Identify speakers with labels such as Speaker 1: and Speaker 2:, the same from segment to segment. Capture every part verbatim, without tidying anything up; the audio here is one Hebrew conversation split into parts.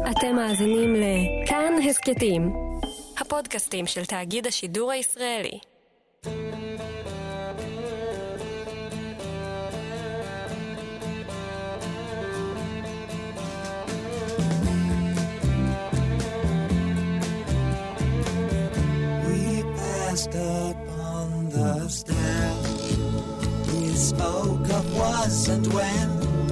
Speaker 1: אתם מאזינים לכאן הסקטים, הפודקאסטים של תאגיד השידור הישראלי.
Speaker 2: We passed up on the stair. We spoke of was and when,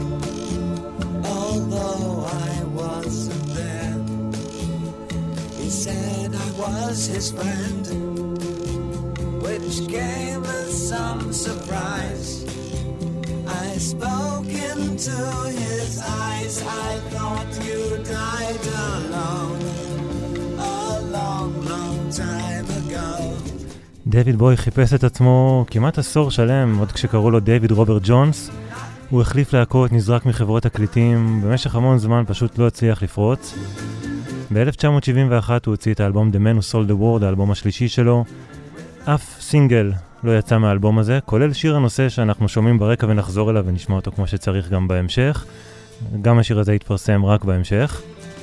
Speaker 2: although I wasn't there. He said I was his friend, which came as some surprise. I spoke into his eyes. I thought you died alone a long, long time ago.
Speaker 3: דייוויד בוי חיפש את עצמו כמעט עשור שלם, עוד כשקראו לו דייוויד רוברט ג'ונס. הוא החליף להקות, נזרק מחברות תקליטים, במשך המון זמן פשוט לא הצליח לפרוץ. ב-אלף תשע מאות שבעים ואחת הוא הוציא את האלבום The Man Who Sold the World, האלבום השלישי שלו. אף סינגל לא יצא מהאלבום הזה, כולל שיר הנושא שאנחנו שומעים ברקע ונחזור אליו ונשמע אותו כמו שצריך גם בהמשך. גם השיר הזה יתפרסם רק בהמשך.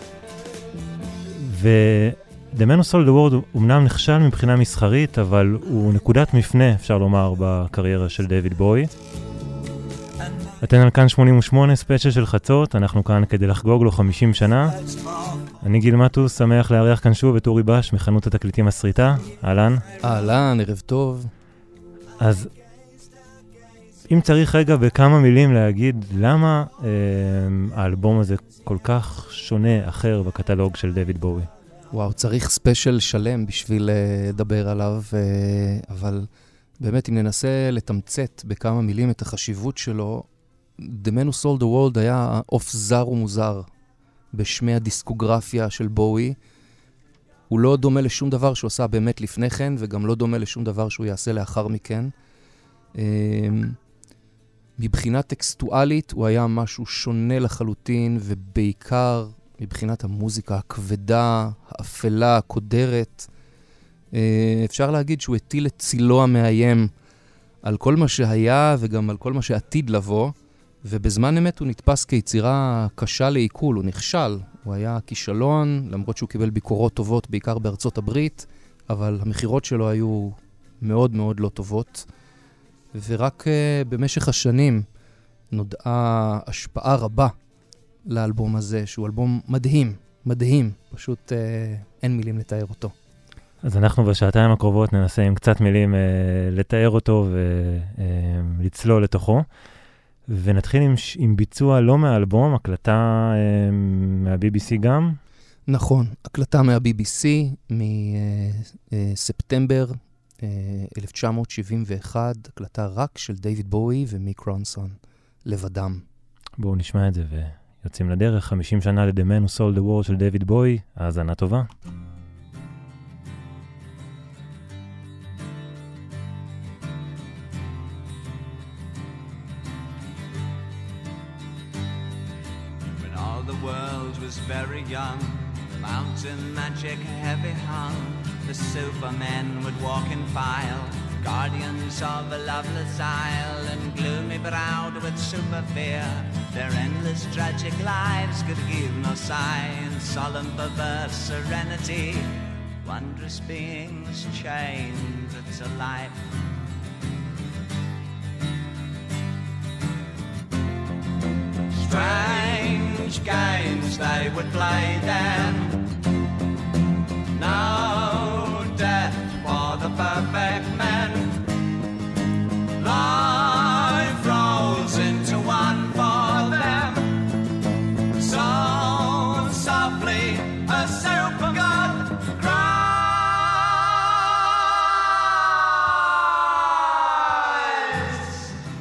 Speaker 3: ו... The Man Who Sold the World הוא אמנם נכשל מבחינה מסחרית, אבל הוא נקודת מפנה, אפשר לומר, בקריירה של דייוויד בוי. אתן על כאן שמונים ושמונה, ספיישל של חצות, אנחנו כאן כדי לחגוג לו חמישים שנה. אני גיל מטוס, שמח לארח כאן שוב את אורי בש מחנות התקליטים הסריטה. אהלן.
Speaker 4: אהלן, ערב טוב.
Speaker 3: אז אם צריך רגע בכמה מילים להגיד למה אה, האלבום הזה כל כך שונה, אחר בקטלוג של דייוויד בוי.
Speaker 4: וואו, צריך ספיישל שלם בשביל לדבר עליו, אבל באמת אם ננסה לתמצת בכמה מילים את החשיבות שלו, The Man Who Sold the World היה עוף זר ומוזר בשמי הדיסקוגרפיה של בוי. הוא לא דומה לשום דבר שהוא עשה באמת לפני כן, וגם לא דומה לשום דבר שהוא יעשה לאחר מכן. מבחינה טקסטואלית הוא היה משהו שונה לחלוטין, ובעיקר מבחינת המוזיקה הכבדה, האפלה, הקודרת. אפשר להגיד שהוא הטיל את צילו המאיים על כל מה שהיה וגם על כל מה שעתיד לבוא, ובזמן אמת הוא נתפס כיצירה קשה לעיכול, הוא נכשל. הוא היה כישלון, למרות שהוא קיבל ביקורות טובות, בעיקר בארצות הברית, אבל המחירות שלו היו מאוד מאוד לא טובות. ורק במשך השנים נודעה השפעה רבה לאלבום הזה, שהוא אלבום מדהים, מדהים, פשוט אה, אין מילים לתאר אותו.
Speaker 3: אז אנחנו בשעתיים הקרובות ננסה עם קצת מילים אה, לתאר אותו ולצלול אה, לתוכו, ונתחיל עם, עם ביצוע לא מהאלבום, הקלטה אה, מה-בי בי סי גם.
Speaker 4: נכון, הקלטה מה-בי בי סי מספטמבר אה, אה, אלף תשע מאות שבעים ואחת, הקלטה רק של דייוויד בוי ומיק רונסון, לבדם.
Speaker 3: בואו נשמע את זה ו... יוצאים לדרך, חמישים שנה ל-The Man Who Sold the World של דייוויד בוי, האזנה טובה.
Speaker 5: When all the world was very young, mountain magic heavy hung, the supermen would walk in file, guardians of a loveless isle, and gloomy browed with super fear, their endless tragic lives could give no sign, solemn perverse serenity, wondrous beings chained to life. Strange games they would play then, no death for the perfect men. Life rolls into one for them, so softly a super god cries.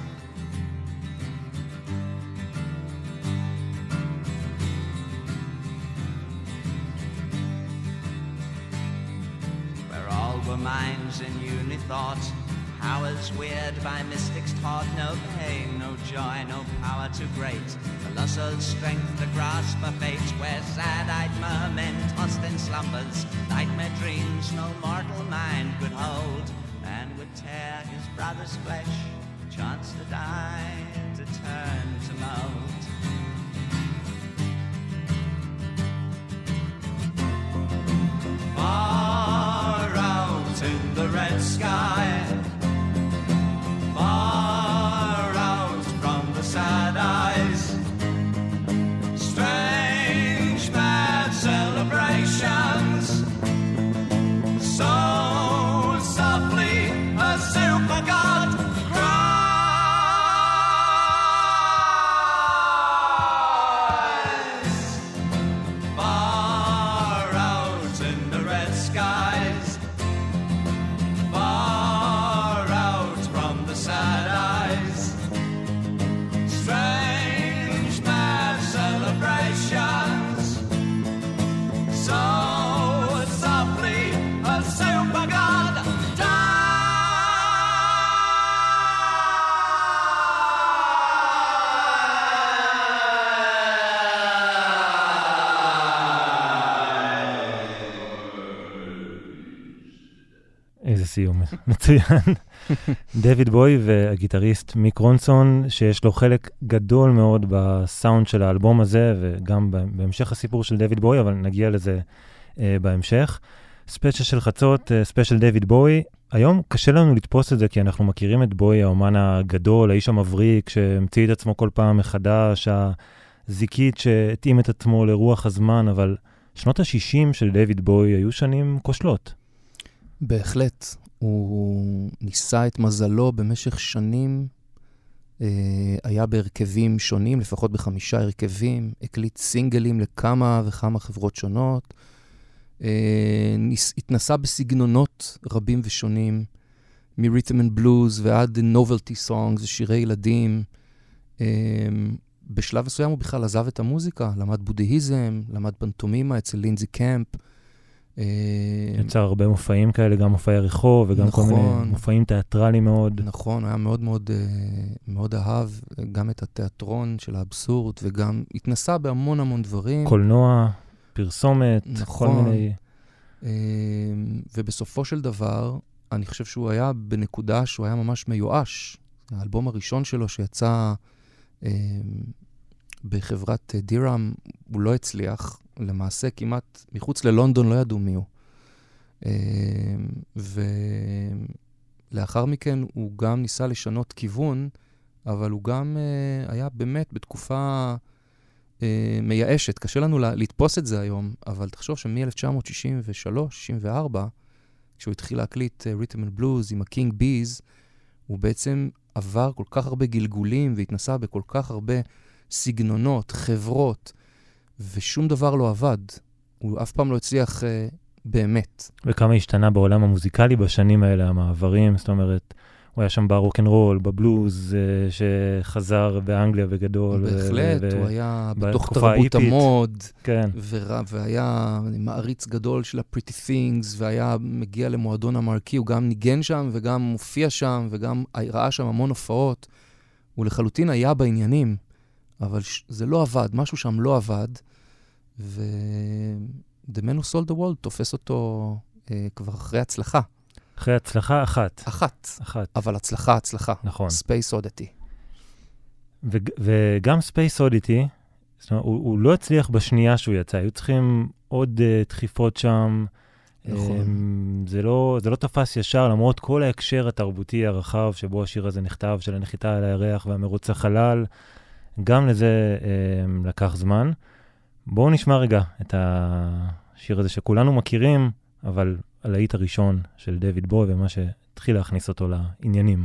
Speaker 5: Where all were minds in unithought, powers weird by mystics taught, no pain, no joy, no power too great, colossal strength to grasp a fate, where sad-eyed mermen tossed in slumbers, nightmare dreams no mortal mind could hold, and would tear his brother's flesh, chance to die, to turn to mold.
Speaker 3: סיום, מצוין. דויד בוי והגיטריסט מיק רונסון, שיש לו חלק גדול מאוד בסאונד של האלבום הזה, וגם בהמשך הסיפור של דויד בוי, אבל נגיע לזה אה, בהמשך. ספיישל של חצות, אה, ספיישל דויד בוי. היום קשה לנו לתפוס את זה, כי אנחנו מכירים את בוי, האומן הגדול, האיש המבריק, שהמציא את עצמו כל פעם מחדש, הזיקית שהתאים את עצמו לרוח הזמן, אבל שנות ה-שישים של דויד בוי היו שנים כושלות.
Speaker 4: בהחלט. הוא ניסה את מזלו במשך שנים, אה, היה בהרכבים שונים, לפחות בחמישה הרכבים, הקליט סינגלים לכמה וכמה חברות שונות, אה, ניס, התנסה בסגנונות רבים ושונים, מ-Rhythm and Blues ועד Novelty Songs ושירי ילדים. אה, בשלב מסוים הוא בכלל עזב את המוזיקה, למד בודהיזם, למד פנטומימה אצל לינזי קמפ,
Speaker 3: יצר הרבה מופעים כאלה, גם מופעי רחוב וגם נכון, כל מיני מופעים תיאטרליים מאוד.
Speaker 4: נכון, היה מאוד מאוד, מאוד אהב גם את התיאטרון של האבסורד, וגם התנסה בהמון המון דברים.
Speaker 3: קולנוע, פרסומת, נכון. כל מיני...
Speaker 4: ובסופו של דבר, אני חושב שהוא היה בנקודה שהוא היה ממש מיואש. האלבום הראשון שלו שיצא בחברת דיראם, הוא לא הצליח. למעשה כמעט מחוץ ללונדון לא ידעו מי הוא. ולאחר מכן הוא גם ניסה לשנות כיוון, אבל הוא גם היה באמת בתקופה מייאשת. קשה לנו לתפוס את זה היום, אבל תחשוב שמ-אלף תשע מאות שישים ושלוש שישים וארבע, כשהוא התחיל להקליט Rhythm and Blues עם ה-King Bees, הוא בעצם עבר כל כך הרבה גלגולים, והתנסה בכל כך הרבה סגנונות, חברות, ושום דבר לא עבד. הוא אף פעם לא הצליח uh, באמת.
Speaker 3: וכמה השתנה בעולם המוזיקלי בשנים האלה, המעברים, זאת אומרת, הוא היה שם ברוק'נ'רול, בבלוז, uh, שחזר באנגליה בגדול.
Speaker 4: בהחלט, ו- הוא היה בתוך תרבות המוד,
Speaker 3: כן.
Speaker 4: ו- והיה מעריץ גדול של ה-Pretty Things, והיה מגיע למועדון המרקי, הוא גם ניגן שם, וגם מופיע שם, וגם ראה שם המון הופעות. הוא לחלוטין היה בעניינים, אבל ש- זה לא עבד, משהו שם לא עבד, ו-The Man Who Sold the World תופס אותו אה, כבר אחרי הצלחה.
Speaker 3: אחרי הצלחה אחת.
Speaker 4: אחת.
Speaker 3: אחת.
Speaker 4: אבל הצלחה, הצלחה.
Speaker 3: נכון.
Speaker 4: Space Oddity.
Speaker 3: ו- וגם Space Oddity, זאת אומרת, הוא, הוא לא הצליח בשנייה שהוא יצא, היו צריכים עוד uh, דחיפות שם.
Speaker 4: נכון.
Speaker 3: Um, זה לא, זה לא תפס ישר, למרות כל ההקשר התרבותי הרחב שבו השיר הזה נכתב, של הנחיתה על הירח והמרוץ החלל, גם לזה um, לקח זמן. בואו נשמע רגע את השיר הזה שכולנו מכירים, אבל הלהיט הראשון של דויד בוי ומה שהתחיל להכניס אותו לעניינים.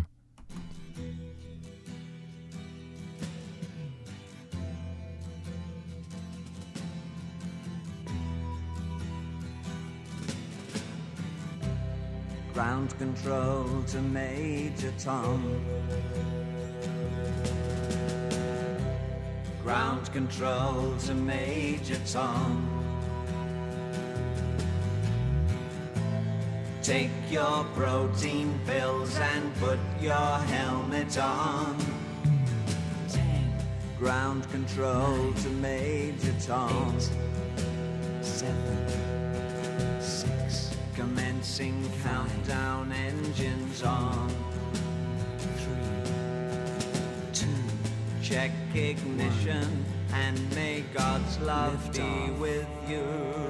Speaker 5: Ground control to Major Tom. Ground control to Major Tom. Take your protein pills and put your helmet on. Ten. Ground control nine, to Major Tom. Eight, seven, six. Commencing countdown, engines on. Three, two. Check ignition and may God's love be with you.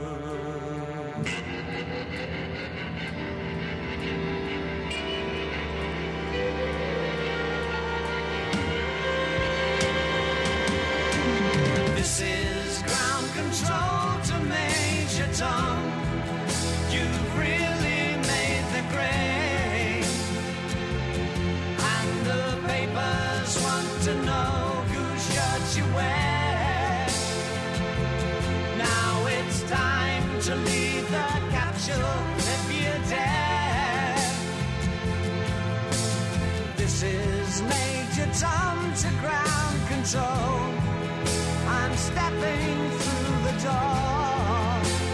Speaker 5: This is ground control to Major Tom. You've really made the grade, and the papers want to know whose shirt you wear. Now it's time to leave the capsule if you dare. This is Major Tom to ground control. I'm stepping through the door,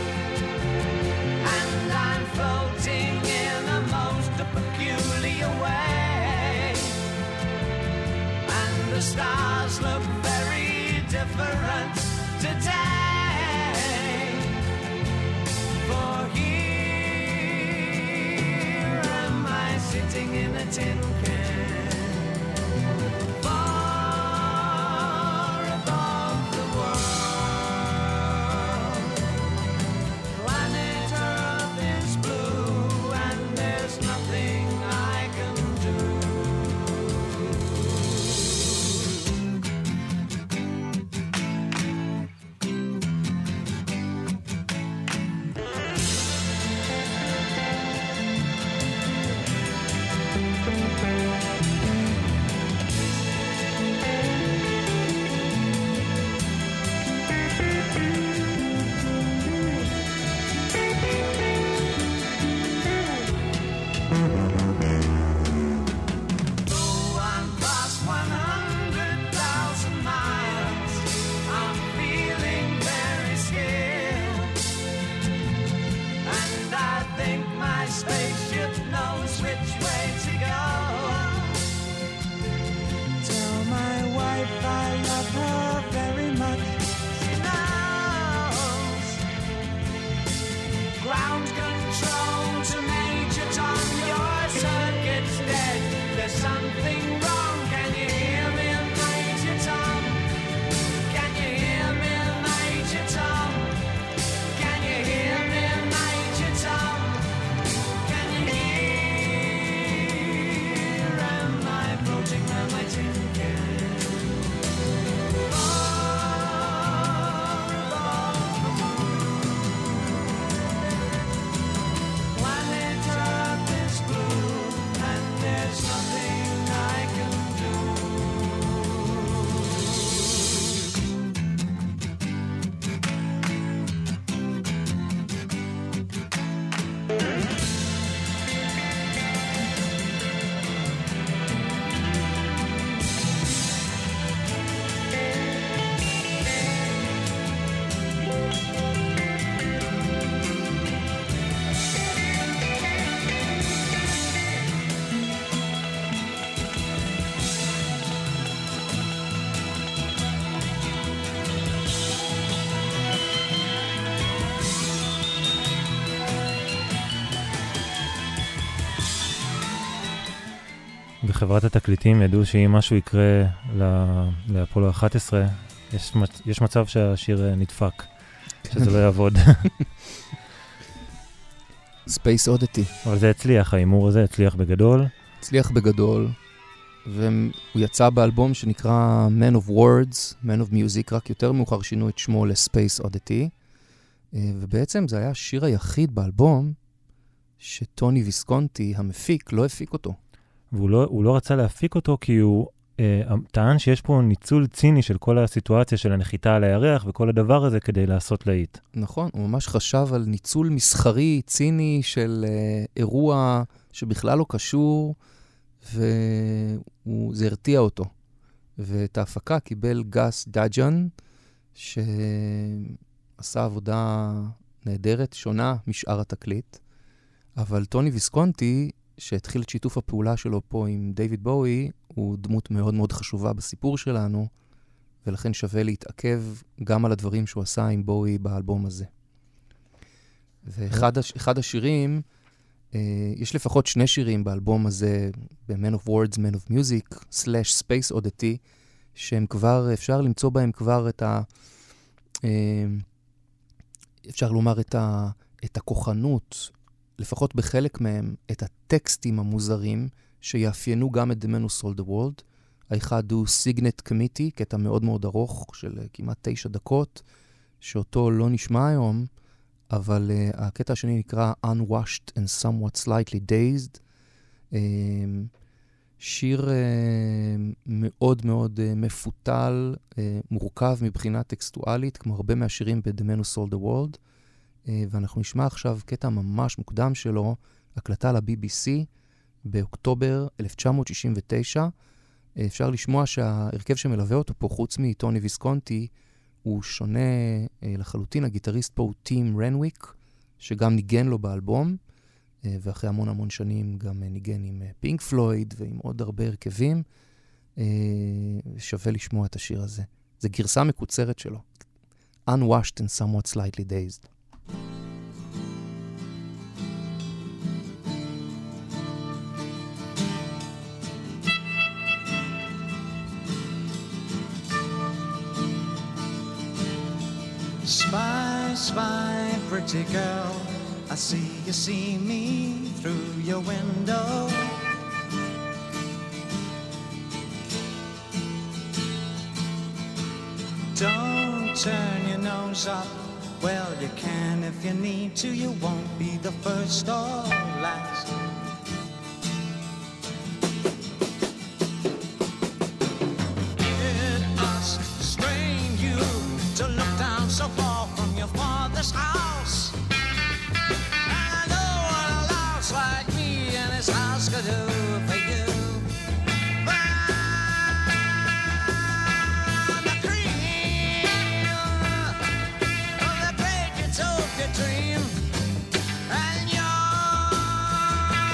Speaker 5: and I'm floating in a most peculiar way, and the stars look very different today. For here am
Speaker 3: בחברת התקליטים ידעו שאם משהו יקרה לאפולו אחת עשרה, יש, יש מצב שהשיר נדפק, שזה לא יעבוד.
Speaker 4: Space Oddity.
Speaker 3: אבל זה הצליח, האימור הזה הצליח בגדול.
Speaker 4: הצליח בגדול, והוא יצא באלבום שנקרא Man of Words, Man of Music, רק יותר מאוחר שינו את שמו ל-Space Oddity, ובעצם זה היה השיר היחיד באלבום שטוני ויסקונטי, המפיק, לא הפיק אותו.
Speaker 3: והוא לא, הוא לא רצה להפיק אותו כי הוא אה, טען שיש פה ניצול ציני של כל הסיטואציה של הנחיתה על הירח וכל הדבר הזה כדי לעשות להיט.
Speaker 4: נכון, הוא ממש חשב על ניצול מסחרי, ציני של אה, אירוע שבכלל לא קשור, וזה הרתיע אותו. ואת ההפקה קיבל גס דאג'ן, שעשה עבודה נהדרת, שונה משאר התקליט. אבל טוני ויסקונטי, שהתחיל את שיתוף הפעולה שלו פה עם דיוויד בואי, הוא דמות מאוד מאוד חשובה בסיפור שלנו, ולכן שווה להתעכב גם על הדברים שהוא עשה עם בואי באלבום הזה. ואחד הש... אחד השירים, אה, יש לפחות שני שירים באלבום הזה, ב-Man of Words, Man of Music, slash Space Oddity, שהם כבר, אפשר למצוא בהם כבר את ה... אה, אפשר לומר את ה... את הכוחנות, לפחות בחלק מהם, את הטקסטים המוזרים שיאפיינו גם את The Man Who Sold the World. האחד הוא Signet Committee, קטע מאוד מאוד ארוך של כמעט תשע דקות, שאותו לא נשמע היום, אבל uh, הקטע השני נקרא Unwashed and Somewhat Slightly Dazed. Uh, שיר uh, מאוד מאוד uh, מפותל, uh, מורכב מבחינה טקסטואלית, כמו הרבה מהשירים ב-The Man Who Sold the World. Uh, ואנחנו נשמע עכשיו קטע ממש מוקדם שלו, הקלטה ל-בי בי סי באוקטובר אלף תשע מאות שישים ותשע. Uh, אפשר לשמוע שההרכב שמלווה אותו פה, חוץ מטוני ויסקונטי, הוא שונה uh, לחלוטין. הגיטריסט פה הוא טים רנוויק, שגם ניגן לו באלבום, uh, ואחרי המון המון שנים גם uh, ניגן עם פינק uh, פלויד ועם עוד הרבה הרכבים. Uh, שווה לשמוע את השיר הזה. זה גרסה מקוצרת שלו. Unwashed and Somewhat Slightly Dazed.
Speaker 2: Spy, spy, pretty girl, I see you see me through your window. Don't turn your nose up, well you can if you need to, you won't be the first or last. It must strain you to look down so far from your father's house. I know what a louse like me and his house could do for you. I'm the cream of the great utopia dream, and you're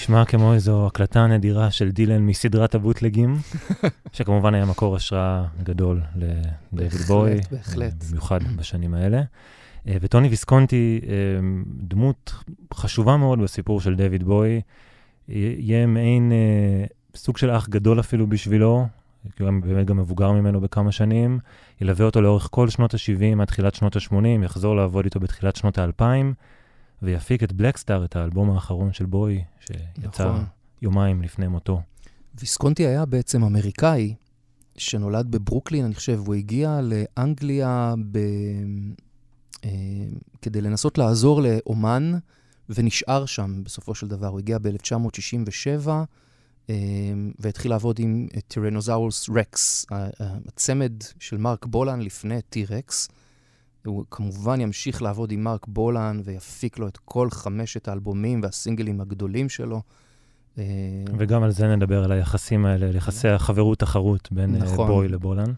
Speaker 3: נשמע כמו איזו הקלטה נדירה של דילן מסדרת הבוטלגים, שכמובן היה מקור השראה גדול לדייוויד בוי,
Speaker 4: בהחלט.
Speaker 3: במיוחד בשנים האלה. וטוני ויסקונטי, דמות חשובה מאוד בסיפור של דייוויד בוי, יהיה מעין סוג של אח גדול אפילו בשבילו, כי הוא באמת גם מבוגר ממנו בכמה שנים, ילווה אותו לאורך כל שנות ה-שבעים עד תחילת שנות ה-שמונים, יחזור לעבוד איתו בתחילת שנות ה-אלפיים, ויפיק את בלקסטאר, את האלבום האחרון של בוי, שיצא נכון. יומיים לפני מותו.
Speaker 4: ויסקונטי היה בעצם אמריקאי, שנולד בברוקלין, אני חושב, הוא הגיע לאנגליה ב... אה, כדי לנסות לעזור לאומן, ונשאר שם בסופו של דבר. הוא הגיע ב-אלף תשע מאות שישים ושבע, אה, והתחיל לעבוד עם טירנוזאורוס רקס, הצמד של מרק בולן לפני טי-רקס. הוא כמובן ימשיך לעבוד עם מרק בולן, ויפיק לו את כל חמשת האלבומים והסינגלים הגדולים שלו.
Speaker 3: וגם על זה נדבר, על היחסים האלה, יחסי החברות-תחרות בין נכון. בוי לבולן.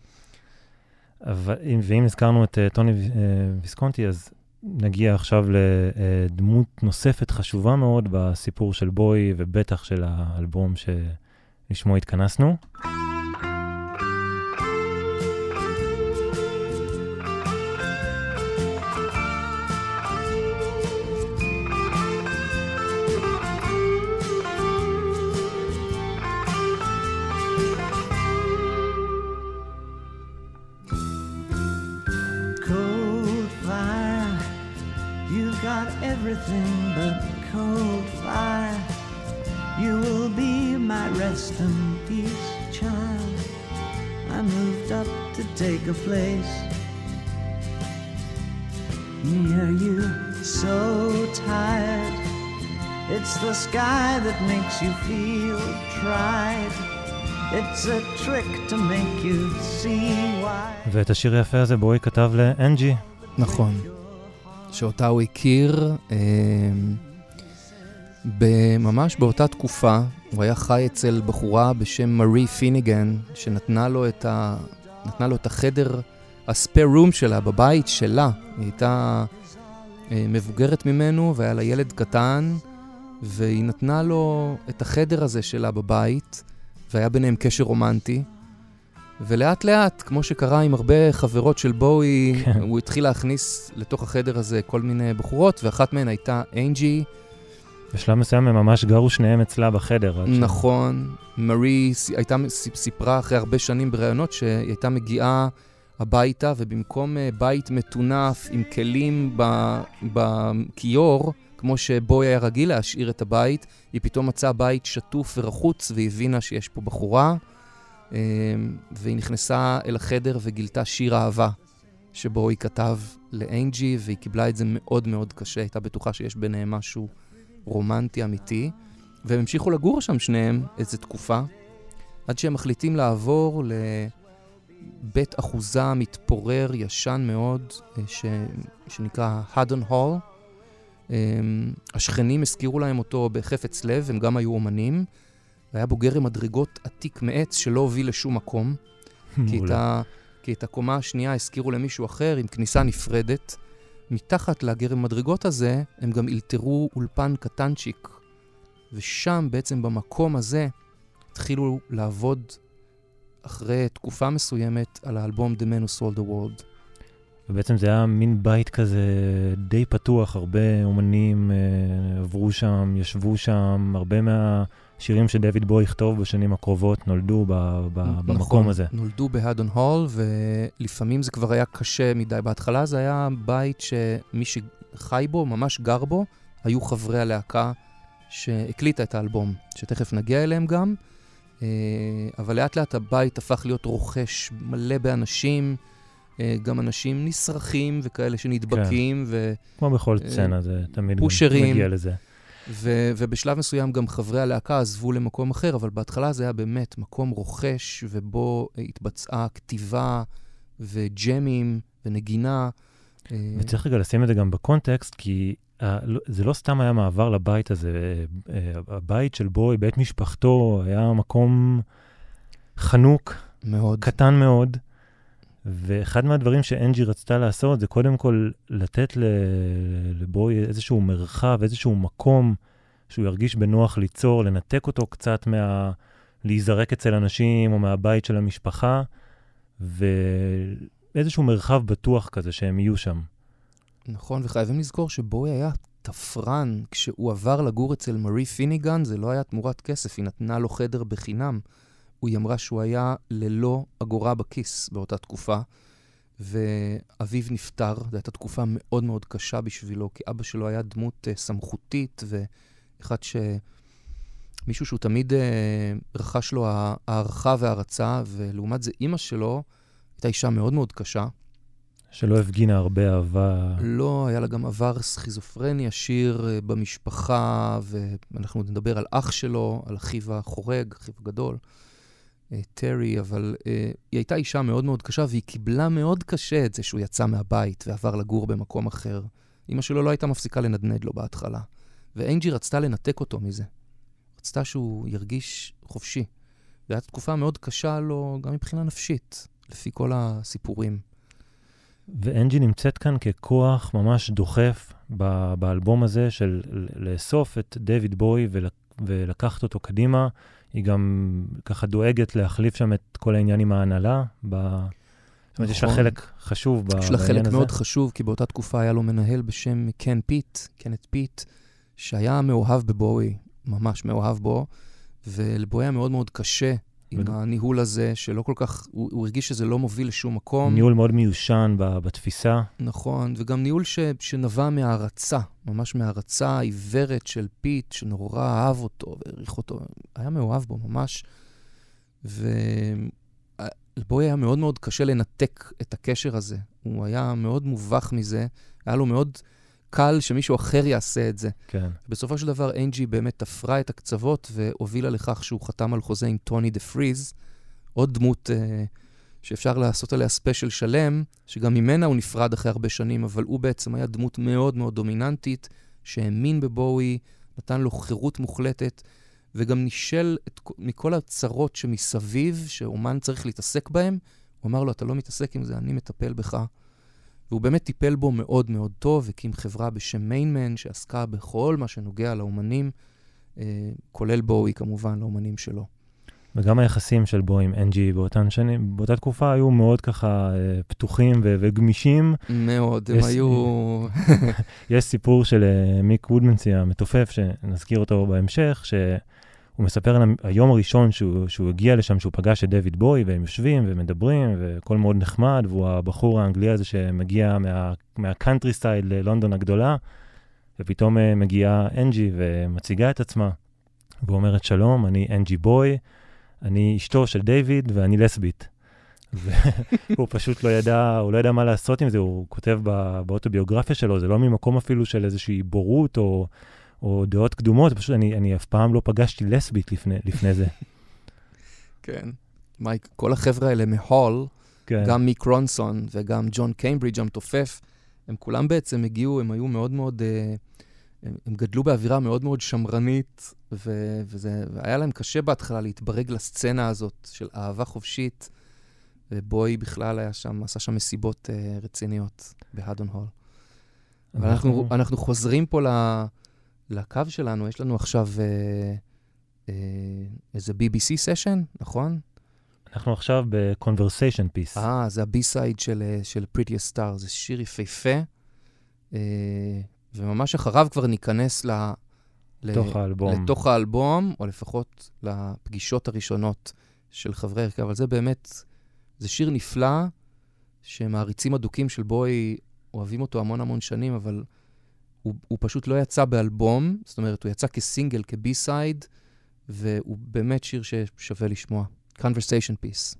Speaker 3: ואם הזכרנו את טוני ויסקונטי, אז נגיע עכשיו לדמות נוספת חשובה מאוד בסיפור של בוי, ובטח של האלבום שלשמו התכנסנו.
Speaker 2: Everything but cold fire. You will be my rest and peace, child. I moved up to take a place near you. So tired. It's the sky that makes you feel tried. It's a trick to make you see why.
Speaker 3: ואת השיר היפה הזה בוי כתב לאנג'י.
Speaker 4: נכון. שאותה הוא הכיר, ממש באותה תקופה, הוא היה חי אצל בחורה בשם מארי פיניגן, שנתנה לו את, ה, נתנה לו את החדר, הספיר רום שלה, בבית שלה. היא הייתה מבוגרת ממנו, והיה לה ילד קטן, והיא נתנה לו את החדר הזה שלה בבית, והיה ביניהם קשר רומנטי. ולאט לאט, כמו שקרה עם הרבה חברות של בוי, כן. הוא התחיל להכניס לתוך החדר הזה כל מיני בחורות, ואחת מהן הייתה אנג'י.
Speaker 3: בשלב מסוים הם ממש גרו שניהם אצלה בחדר.
Speaker 4: נכון. מארי הייתה סיפרה אחרי הרבה שנים ברעיונות שהיא הייתה מגיעה הביתה, ובמקום בית מטונף עם כלים בכיור, כמו שבוי היה רגיל להשאיר את הבית, היא פתאום מצאה בית שטוף ורחוץ, והבינה שיש פה בחורה. והיא נכנסה אל החדר וגילתה שיר אהבה שבו היא כתב לאנג'י, והיא קיבלה את זה מאוד מאוד קשה, הייתה בטוחה שיש ביניהם משהו רומנטי אמיתי, והם המשיכו לגור שם שניהם איזו תקופה, עד שהם מחליטים לעבור לבית אחוזה מתפורר ישן מאוד, ש... שנקרא הדון הול. השכנים הזכירו להם אותו בחפץ לב, הם גם היו אומנים, והיה בו גרם מדרגות עתיק מעץ שלא הוביל לשום מקום, כי את, ה, כי את הקומה השנייה הזכירו למישהו אחר עם כניסה נפרדת. מתחת לגרם מדרגות הזה הם גם אלתרו אולפן קטנצ'יק, ושם בעצם במקום הזה התחילו לעבוד אחרי תקופה מסוימת על האלבום The Man Who Sold the World.
Speaker 3: ובעצם זה היה מין בית כזה די פתוח, הרבה אומנים אה, עברו שם, ישבו שם, הרבה מהשירים שדייוויד בוי יכתוב בשנים הקרובות נולדו ב, ב, נכון, במקום הזה.
Speaker 4: נולדו בהדון הול, ולפעמים זה כבר היה קשה מדי. בהתחלה זה היה בית שמי שחי בו, ממש גר בו, היו חברי הלהקה שהקליטה את האלבום, שתכף נגיע אליהם גם, אה, אבל לאט לאט הבית הפך להיות רוכש מלא באנשים, גם אנשים נשרחים וכאלה שנדבקים. ו...
Speaker 3: כמו בכל סצנה, זה תמיד מגיע לזה.
Speaker 4: ו... ובשלב מסוים גם חברי הלהקה עזבו למקום אחר, אבל בהתחלה זה היה באמת מקום רוכש, ובו התבצעה כתיבה וג'מים ונגינה.
Speaker 3: וצריך רגע לשים את זה גם בקונטקסט, כי זה לא סתם היה מעבר לבית הזה. הבית של בוי, בית משפחתו, היה מקום חנוק, מאוד. קטן מאוד, ואחד מהדברים שאנג'י רצתה לעשות, זה קודם כל לתת לבוי איזשהו מרחב, איזשהו מקום שהוא ירגיש בנוח ליצור, לנתק אותו קצת מה... להיזרק אצל אנשים או מהבית של המשפחה, ואיזשהו מרחב בטוח כזה שהם יהיו שם.
Speaker 4: נכון, וחייבים לזכור שבואי היה תפרן, כשהוא עבר לגור אצל מארי פיניגן, זה לא היה תמורת כסף, היא נתנה לו חדר בחינם. היא אמרה שהוא היה ללא אגורה בכיס באותה תקופה, ואביו נפטר, זו הייתה תקופה מאוד מאוד קשה בשבילו, כי אבא שלו היה דמות uh, סמכותית, ואחד ש... מישהו שהוא תמיד uh, רכש לו הערכה והרצה, ולעומת זה אימא שלו הייתה אישה מאוד מאוד קשה.
Speaker 3: שלא הפגינה הרבה אהבה.
Speaker 4: לא, היה לה גם עבר סכיזופרני עשיר uh, במשפחה, ואנחנו נדבר על אח שלו, על אחיו החורג, אחיו הגדול. טרי, אבל uh, היא הייתה אישה מאוד מאוד קשה, והיא קיבלה מאוד קשה את זה שהוא יצא מהבית ועבר לגור במקום אחר. אמא שלו לא הייתה מפסיקה לנדנד לו בהתחלה. ואנג'י רצתה לנתק אותו מזה. רצתה שהוא ירגיש חופשי. זו הייתה תקופה מאוד קשה לו, גם מבחינה נפשית, לפי כל הסיפורים.
Speaker 3: ואנג'י נמצאת כאן ככוח ממש דוחף ב- באלבום הזה של לאסוף את דיוויד בוי ול- ולקחת אותו קדימה. היא גם ככה דואגת להחליף שם את כל העניין עם ההנהלה. ב... זאת אומרת, יש לה חלק חשוב בעניין הזה.
Speaker 4: יש לה חלק מאוד חשוב, כי באותה תקופה היה לו מנהל בשם קן פיט, קנט פיט, שהיה מאוהב בבואי, ממש מאוהב בו, ולבואי היה מאוד מאוד קשה עם הניהול הזה, שלא כל כך, הוא, הוא הרגיש שזה לא מוביל לשום מקום.
Speaker 3: ניהול מאוד מיושן בתפיסה.
Speaker 4: נכון, וגם ניהול ש, שנבע מהערצה, ממש מהערצה העיוורת של פיט, שנורא אהב אותו והעריך אותו, היה מאוהב בו ממש, ולבואי היה מאוד מאוד קשה לנתק את הקשר הזה. הוא היה מאוד מובך מזה, היה לו מאוד קל שמישהו אחר יעשה את זה.
Speaker 3: כן.
Speaker 4: בסופו של דבר, אנג'י באמת תפרה את הקצוות והובילה לכך שהוא חתם על חוזה עם טוני דה פריז, עוד דמות אה, שאפשר לעשות עליה ספיישל שלם, שגם ממנה הוא נפרד אחרי הרבה שנים, אבל הוא בעצם היה דמות מאוד מאוד דומיננטית, שהאמין בבואי, נתן לו חירות מוחלטת, וגם נשאל את, מכל הצרות שמסביב, שאומן צריך להתעסק בהם, הוא אמר לו, אתה לא מתעסק עם זה, אני מטפל בך. והוא באמת טיפל בו מאוד מאוד טוב, הקים חברה בשם מיינמן, שעסקה בכל מה שנוגע לאומנים, אה, כולל בואי כמובן, לאומנים שלו.
Speaker 3: וגם היחסים של בואי עם אנג'י באותן שנים, באותה תקופה היו מאוד ככה אה, פתוחים ו- וגמישים.
Speaker 4: מאוד, הם
Speaker 3: יש,
Speaker 4: היו...
Speaker 3: יש סיפור של אה, מיק וודמנסי המתופף, שנזכיר אותו בהמשך, ש... הוא מספר על היום הראשון שהוא, שהוא הגיע לשם, שהוא פגש את דיוויד בוי, והם יושבים ומדברים, וכל מאוד נחמד, והוא הבחור האנגלי הזה שמגיע מה, מהקאנטרי סטייל ללונדון הגדולה, ופתאום מגיעה אנג'י ומציגה את עצמה, ואומרת, שלום, אני אנג'י בוי, אני אשתו של דיוויד, ואני לסבית. והוא פשוט לא ידע, הוא לא ידע מה לעשות עם זה, הוא כותב בא, באוטוביוגרפיה שלו, זה לא ממקום אפילו של איזושהי בורות, או... או דעות קדומות, פשוט אני, אני אף פעם לא פגשתי לסבית לפני, לפני זה.
Speaker 4: כן. מייק, כל החבר'ה האלה מהול,
Speaker 3: כן.
Speaker 4: גם מיק רונסון וגם ג'ון קיימברידג' המתופף, הם כולם בעצם הגיעו, הם היו מאוד מאוד, הם, הם גדלו באווירה מאוד מאוד שמרנית, ו, וזה, והיה להם קשה בהתחלה להתברג לסצנה הזאת של אהבה חופשית, ובוי בכלל היה שם, עשה שם מסיבות uh, רציניות בהדון הול. אבל אנחנו, אנחנו חוזרים פה ל... לקו שלנו, יש לנו עכשיו אה, אה, איזה בי בי סי סשן, נכון?
Speaker 3: אנחנו עכשיו ב-Conversation Piece.
Speaker 4: אה, זה הבי-סייד של, של Prettiest Star, זה שיר יפהפה, אה, וממש אחריו כבר ניכנס ל,
Speaker 3: לתוך, ל, האלבום.
Speaker 4: לתוך האלבום, או לפחות לפגישות הראשונות של חברי הרכב, אבל זה באמת, זה שיר נפלא, שמעריצים הדוקים של בוי אוהבים אותו המון המון שנים, אבל... הוא, הוא פשוט לא יצא באלבום, זאת אומרת, הוא יצא כסינגל, כבי-סייד, והוא באמת שיר ששווה לשמוע. Conversation Piece.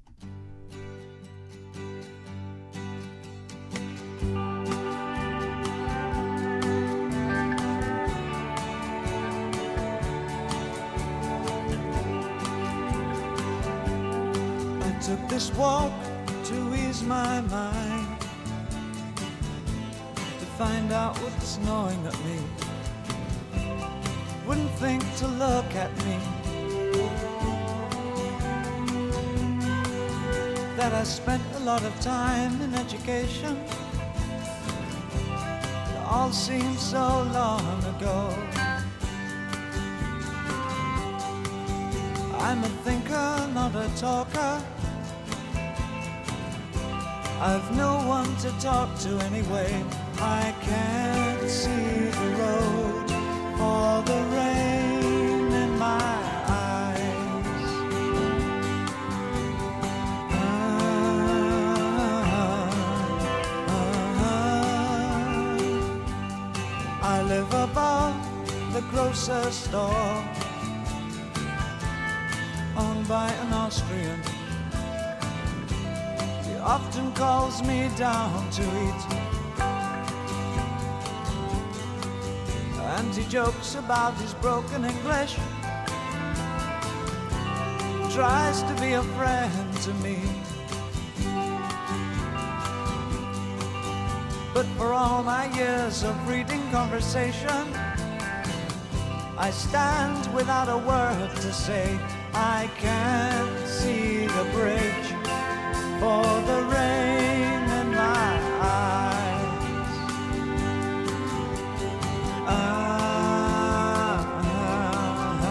Speaker 2: I took this walk to ease my mind, find out what's gnawing at me. Wouldn't think to look at me that I spent a lot of time in education. It all seems so long ago. I'm a thinker, not a talker. I've no one to talk to anyway. I can't see the road for the rain in my eyes. Ah, ah, I live above the grocer's store, owned by an Austrian. He often calls me down to eat, and he jokes about his broken English, tries to be a friend to me. But for all my years of reading conversation, I stand without a word to say. I can't see the bridge for the rain in my eyes. Ah, ah,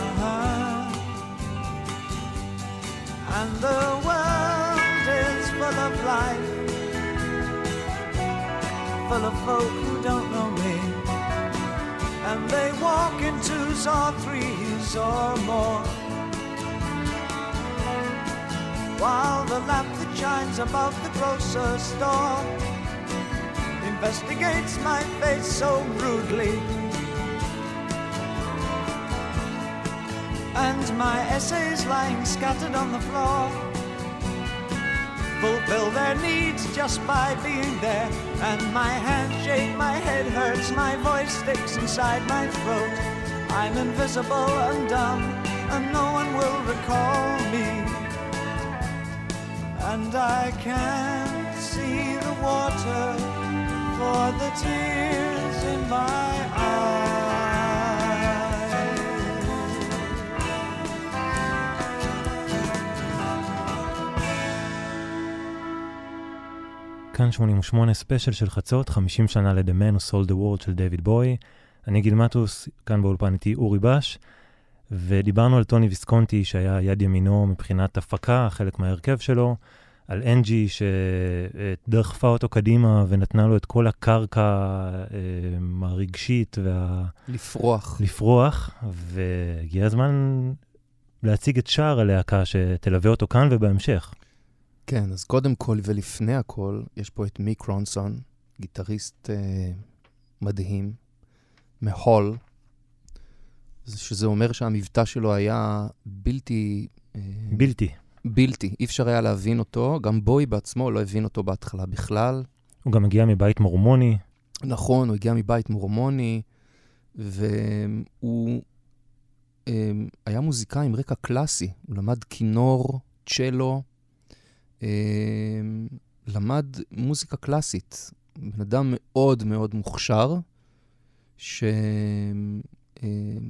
Speaker 2: ah. And the world is full of life, full of folk who don't know me, and they walk in twos or threes or more, while the lamp that shines above the grocer's store investigates my face so rudely, and my essays lying scattered on the floor fulfill their needs just by being there. And my hands shake, my head hurts, my voice sticks inside my throat. I'm invisible and dumb, and no one will recall me, and I can't see the water for the tears in my eyes.
Speaker 3: כאן שמונים ושמונה ספיישל של חצות, חמישים שנה ל-The Man Who Sold the World של דיוויד בוי. אני גיל מטוס, כאן באולפן איתי אורי בש, ודיברנו על טוני ויסקונטי שהיה יד ימינו מבחינת הפקה, חלק מההרכב שלו, על אנג'י שדחפה אותו קדימה ונתנה לו את כל הקרקע הרגשית וה...
Speaker 4: לפרוח.
Speaker 3: לפרוח, והגיע הזמן להציג את שאר הלהקה שתלווה אותו כאן ובהמשך.
Speaker 4: כן, אז קודם כל ולפני הכל, יש פה את מיק רונסון, גיטריסט אה, מדהים, מהול, שזה אומר שהמבטא שלו היה בלתי... אה,
Speaker 3: בלתי.
Speaker 4: בלתי, אי אפשר היה להבין אותו, גם בוי בעצמו לא הבין אותו בהתחלה בכלל.
Speaker 3: הוא גם הגיע מבית מורמוני.
Speaker 4: נכון, הוא הגיע מבית מורמוני, והוא אה, היה מוזיקאי עם רקע קלאסי, הוא למד כינור, צ'לו, Uh, למד מוזיקה קלאסית, בן אדם מאוד מאוד מוכשר, שלא uh,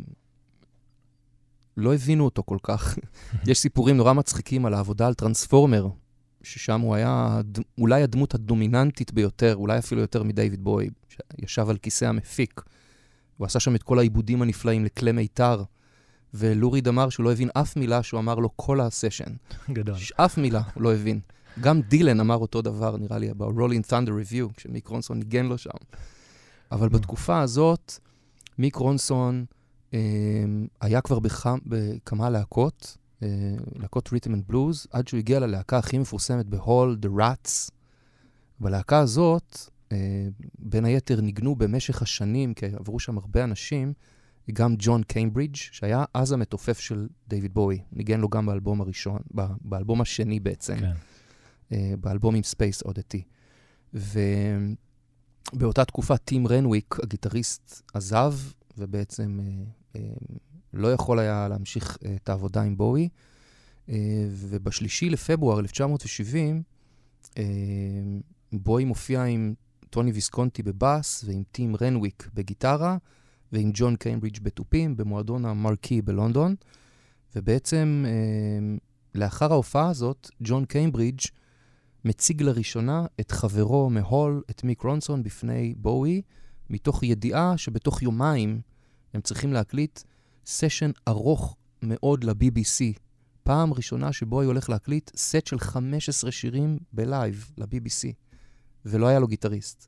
Speaker 4: לא הבינו אותו כל כך. יש סיפורים נורא מצחיקים על העבודה על טרנספורמר, ששם הוא היה אולי הדמות הדומיננטית ביותר, אולי אפילו יותר מדייוויד בוי, שישב על כיסא המפיק. הוא עשה שם את כל העיבודים הנפלאים לכלי מיתר, ולוריד אמר שהוא לא הבין אף מילה שהוא אמר לו כל הסשן.
Speaker 3: גדול.
Speaker 4: אף מילה הוא לא הבין. גם דילן אמר אותו דבר, נראה לי, ב-Rolling Thunder Review, כשמיק רונסון ניגן לו שם. אבל בתקופה הזאת, מיק רונסון אה, היה כבר בכמה, בכמה להקות, אה, להקות Rhythm and Blues, עד שהוא הגיע ללהקה הכי מפורסמת בהול, The Rats. בלהקה הזאת, אה, בין היתר ניגנו במשך השנים, כי עברו שם הרבה אנשים, גם ג'ון קיימברידג' שהיה אז המתופף של דיוויד בוי. ניגן לו גם באלבום הראשון, באלבום השני בעצם. כן. באלבום עם ספייס אודיטי. ובאותה תקופה טים רנוויק, הגיטריסט, עזב, ובעצם לא יכול היה להמשיך את העבודה עם בוי. ובשלישי לפברואר אלף תשע מאות שבעים, בוי מופיע עם טוני ויסקונטי בבאס, ועם טים רנוויק בגיטרה, ועם ג'ון קיימברידג' בתופים, במועדון המרקי בלונדון. ובעצם, לאחר ההופעה הזאת, ג'ון קיימברידג' מציג לראשונה את חברו מהול, את מיק רונסון, בפני בואי, מתוך ידיעה שבתוך יומיים הם צריכים להקליט סשן ארוך מאוד ל-בי בי סי. פעם ראשונה שבו היא הולך להקליט סט של חמישה עשר שירים בלייב ל-בי בי סי, ולא היה לו גיטריסט.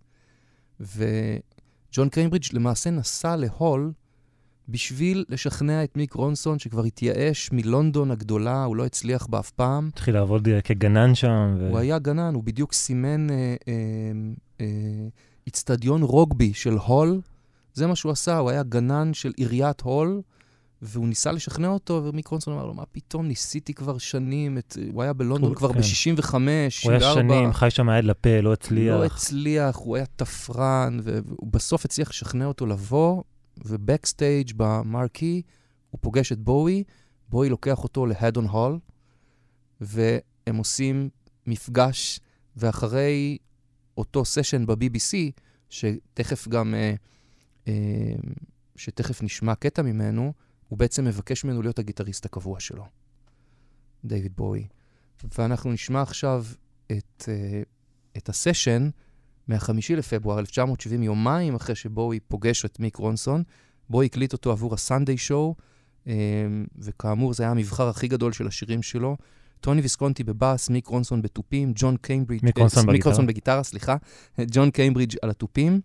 Speaker 4: וג'ון קיימברידג' למעשה נסע להול בשביל לשכנע את מיק רונסון, שכבר התייאש מלונדון הגדולה, הוא לא הצליח בה אף פעם.
Speaker 3: התחיל לעבוד כגנן שם. ו...
Speaker 4: הוא היה גנן, הוא בדיוק סימן אה, אה, אה, אצטדיון רוגבי של הול. זה מה שהוא עשה, הוא היה גנן של עיריית הול, והוא ניסה לשכנע אותו, ומיק רונסון אמר לו, מה פתאום, ניסיתי כבר שנים, את... הוא היה בלונדון הוא, כבר כן. ב-שישים וחמש, שישים וארבע.
Speaker 3: הוא היה שנים, חי שם היד לפה, לא הצליח.
Speaker 4: לא הצליח, הוא היה תפרן, והוא בסוף הצליח לשכנע אותו לבוא, ובקסטייג' במרקי, הוא פוגש את בואי, בואי לוקח אותו להדון הול, והם עושים מפגש, ואחרי אותו סשן ב-בי בי סי, שתכף גם, אה, אה, שתכף נשמע קטע ממנו, הוא בעצם מבקש ממנו להיות הגיטריסט הקבוע שלו, דיוויד בואי. ואנחנו נשמע עכשיו את, אה, את הסשן, מהחמישי לפברואר אלף תשע מאות שבעים, יומיים אחרי שבואי פוגש את מיק רונסון, בואי הקליט אותו עבור הסנדיי שואו, וכאמור זה היה המבחר הכי גדול של השירים שלו. טוני ויסקונטי בבאס, מיק רונסון בטופים, ג'ון קיימברידג'
Speaker 3: מיק רונסון בגיטרה.
Speaker 4: מיק רונסון בגיטרה, סליחה, ג'ון קיימברידג' על הטופים.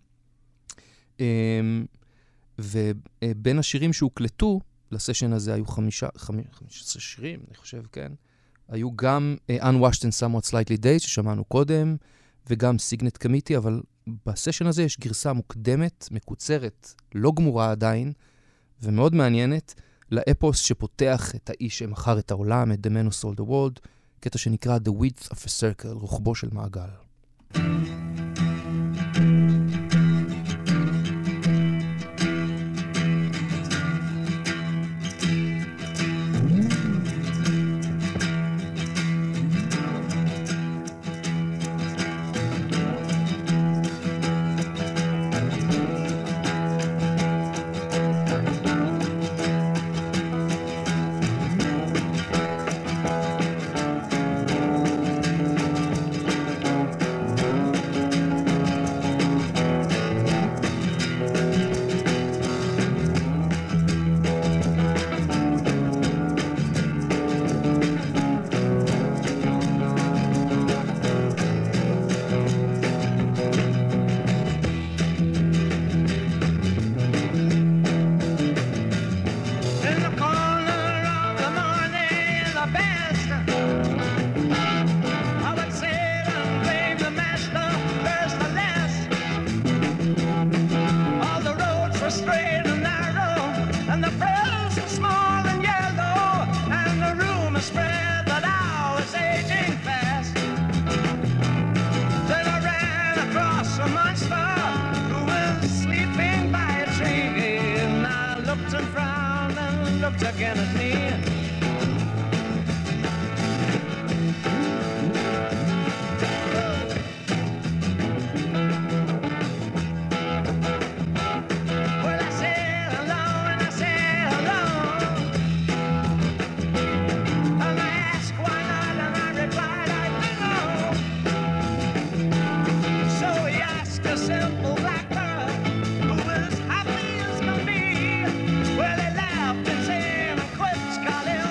Speaker 4: ובין השירים שהוקלטו לסשן הזה היו חמישה, חמישה עשר שירים, אני חושב, כן. היו גם uh, Unwashed and Somewhat Slightly Dazed, ששמענו קודם, וגם סיגנט קמיטי, אבל בסשן הזה יש גרסה מוקדמת, מקוצרת, לא גמורה עדיין, ומאוד מעניינת, לאפוס שפותח את האיש שמחר את העולם, את The Man Who Sold the World, קטע שנקרא The Width of a Circle, רוחבו של מעגל.
Speaker 2: Calling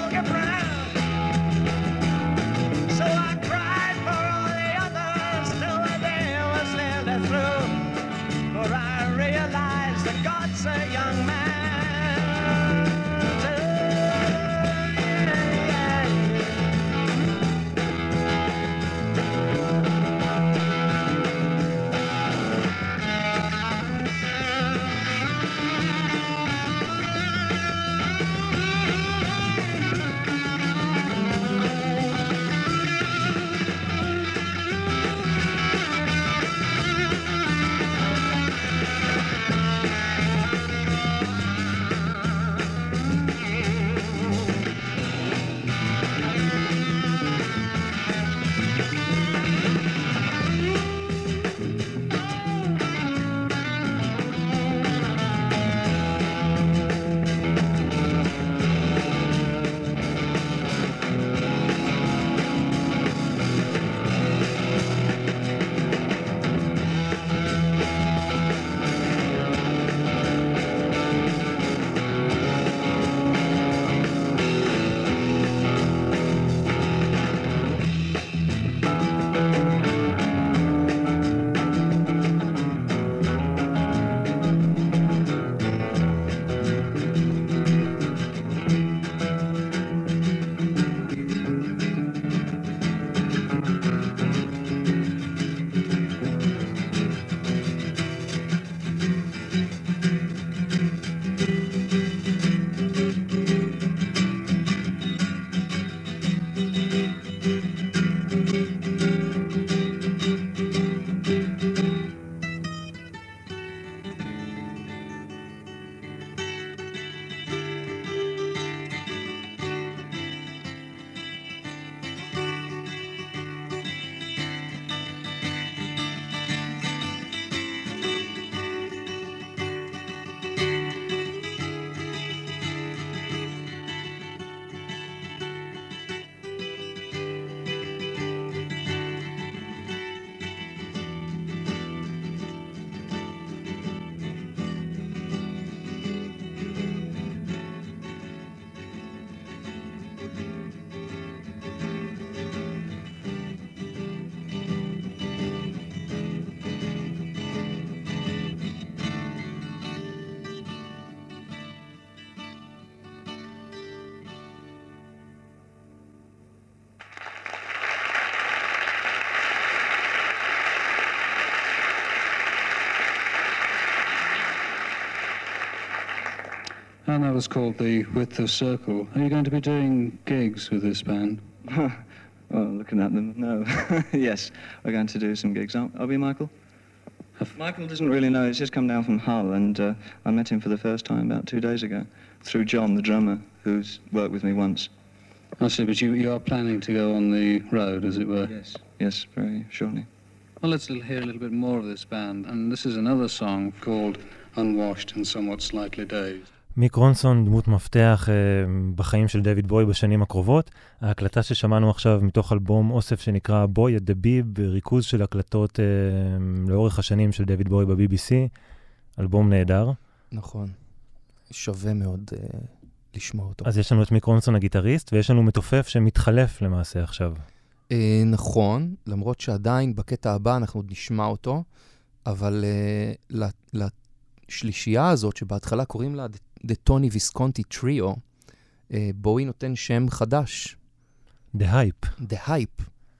Speaker 6: band that was called the Width of Circle. Are you going to be doing gigs with this band?
Speaker 7: Well, looking at them, no. Yes, we're going to do some gigs, aren't are we, Michael? Michael doesn't really know. He's just come down from Hull, and uh, I met him for the first time about two days ago through John, the drummer, who's worked with me once.
Speaker 6: I see, but you, you are planning to go on the road, as it were?
Speaker 7: Yes, yes, very shortly.
Speaker 6: Well, let's hear a little bit more of this band, and this is another song called Unwashed and Somewhat Slightly Dazed.
Speaker 3: מיק רונסון, דמות מפתח uh, בחיים של דויד בוי בשנים הקרובות. ההקלטה ששמענו עכשיו מתוך אלבום אוסף שנקרא בוי at the Bib, ריכוז של הקלטות uh, לאורך השנים של דויד בוי ב-בי בי סי. אלבום נהדר.
Speaker 4: נכון. שווה מאוד uh, לשמוע אותו.
Speaker 3: אז יש לנו את מיק רונסון הגיטריסט, ויש לנו מתופף שמתחלף למעשה עכשיו.
Speaker 4: Uh, נכון, למרות שעדיין בקטע הבא אנחנו עוד נשמע אותו, אבל uh, לשלישייה הזאת שבהתחלה קוראים לה The Tony Visconti Trio, uh, בואי נותן שם חדש.
Speaker 3: The Hype.
Speaker 4: The Hype.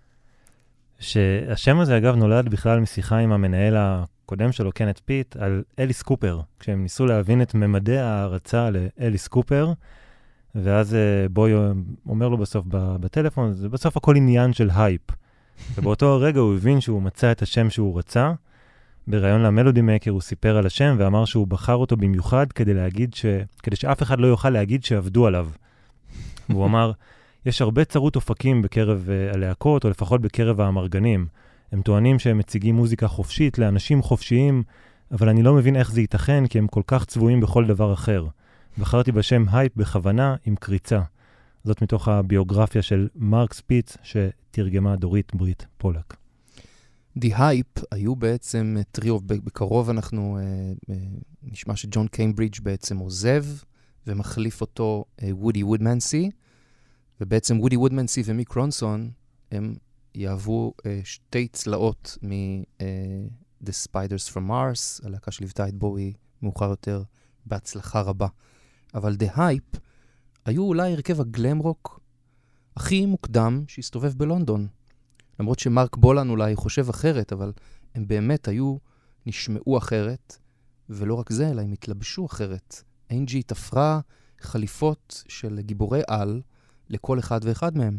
Speaker 3: שהשם הזה אגב נולד בכלל משיחה עם המנהל הקודם שלו, קנט פיט, על אליס קופר, כשהם ניסו להבין את ממדי ההרצה לאליס קופר, ואז uh, בואי אומר לו בסוף בטלפון, זה בסוף הכל עניין של הייפ. ובאותו הרגע הוא הבין שהוא מצא את השם שהוא רצה, בראיון למלודי מקר הוא סיפר על השם ואמר שהוא בחר אותו במיוחד כדי להגיד ש... כדי שאף אחד לא יוכל להגיד שעבדו עליו. והוא אמר, יש הרבה צרות אופקים בקרב uh, הלהקות, או לפחות בקרב האמרגנים. הם טוענים שהם מציגים מוזיקה חופשית לאנשים חופשיים, אבל אני לא מבין איך זה ייתכן, כי הם כל כך צבועים בכל דבר אחר. בחרתי בשם הייפ בכוונה עם קריצה. זאת מתוך הביוגרפיה של מרק ספיץ, שתרגמה דורית ברית פולק.
Speaker 4: The Hype היו בעצם טריו, בקרוב אנחנו uh, uh, נשמע שג'ון קיימברידג' בעצם עוזב, ומחליף אותו וודי uh, וודמנסי, ובעצם וודי וודמנסי ומיק רונסון, הם יהוו uh, שתי צלעות מ- uh, The Spiders from Mars, הלהקה שליוותה את בואי מאוחר יותר בהצלחה רבה. אבל The Hype היו אולי הרכב הגלם רוק הכי מוקדם שהסתובב בלונדון. למרות שמרק בולן אולי חושב אחרת, אבל הם באמת היו, נשמעו אחרת, ולא רק זה, אלא הם התלבשו אחרת. אנג'י תפרה חליפות של גיבורי על לכל אחד ואחד מהם.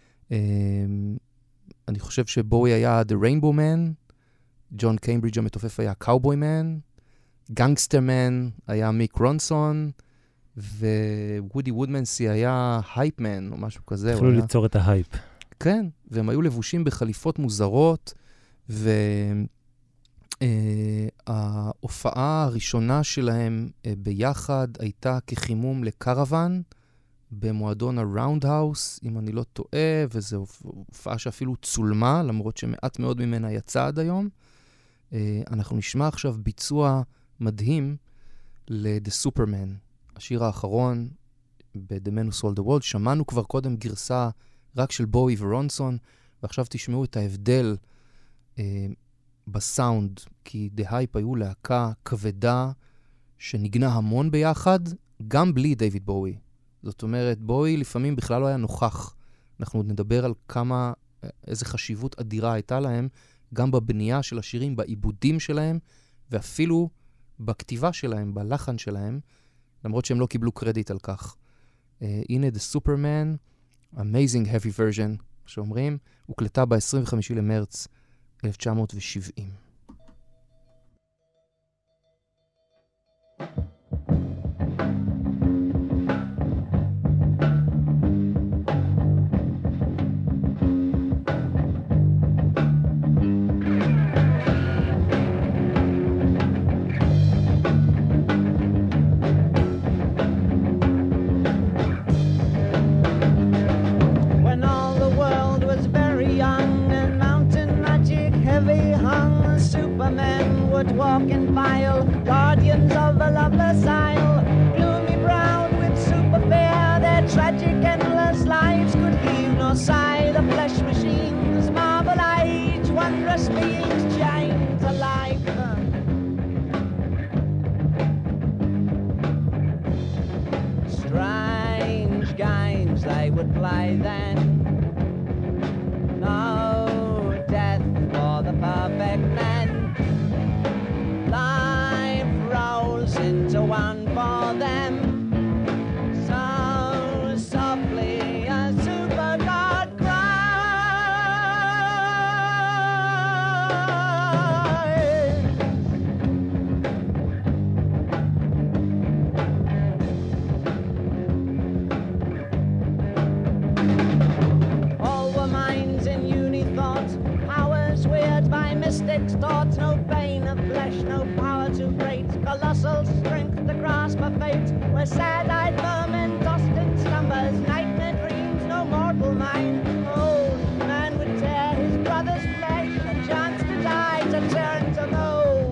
Speaker 4: אני חושב שבואי היה The Rainbow Man, ג'ון קיימברידג' המתופף היה Cowboy Man, גנגסטר מן היה מיק רונסון, ווודי וודמנסי היה הייפ מן, או משהו כזה.
Speaker 3: יכלו היה... ליצור את ההייפ.
Speaker 4: כן, והם היו לבושים בחליפות מוזרות, וההופעה הראשונה שלהם ביחד הייתה כחימום לקרוון, במועדון הראונדהאוס, אם אני לא טועה, וזו הופעה שאפילו צולמה, למרות שמעט מאוד ממנה יצא עד היום. אנחנו נשמע עכשיו ביצוע מדהים ל-The Superman, השיר האחרון ב-The Man Who Sold the World. שמענו כבר קודם גרסה רק של בואי ורונסון, ועכשיו תשמעו את ההבדל אה, בסאונד, כי The Hype היו להקה כבדה שנגנה המון ביחד, גם בלי דיוויד בואי. זאת אומרת, בואי לפעמים בכלל לא היה נוכח. אנחנו עוד נדבר על כמה, איזה חשיבות אדירה הייתה להם, גם בבנייה של השירים, בעיבודים שלהם, ואפילו בכתיבה שלהם, בלחן שלהם, למרות שהם לא קיבלו קרדיט על כך. אה, הנה The Superman, Amazing Heavy Version, שאומרים, הוקלטה ב-עשרים וחמישה למרץ אלף תשע מאות שבעים.
Speaker 8: Walk in file, guardians of a loveless isle, gloomy browed with super fair, their tragic endless lives could heave no sigh. The flesh machines marvel age, wondrous beings giants alive. Strange games they would play then, no death for the perfect man. Life rolls into one for them. the fate, where sad-eyed vermin tossed in slumbers, nightmare dreams no mortal mind. Old man would tear his brother's flesh, a chance to die, to turn to gold.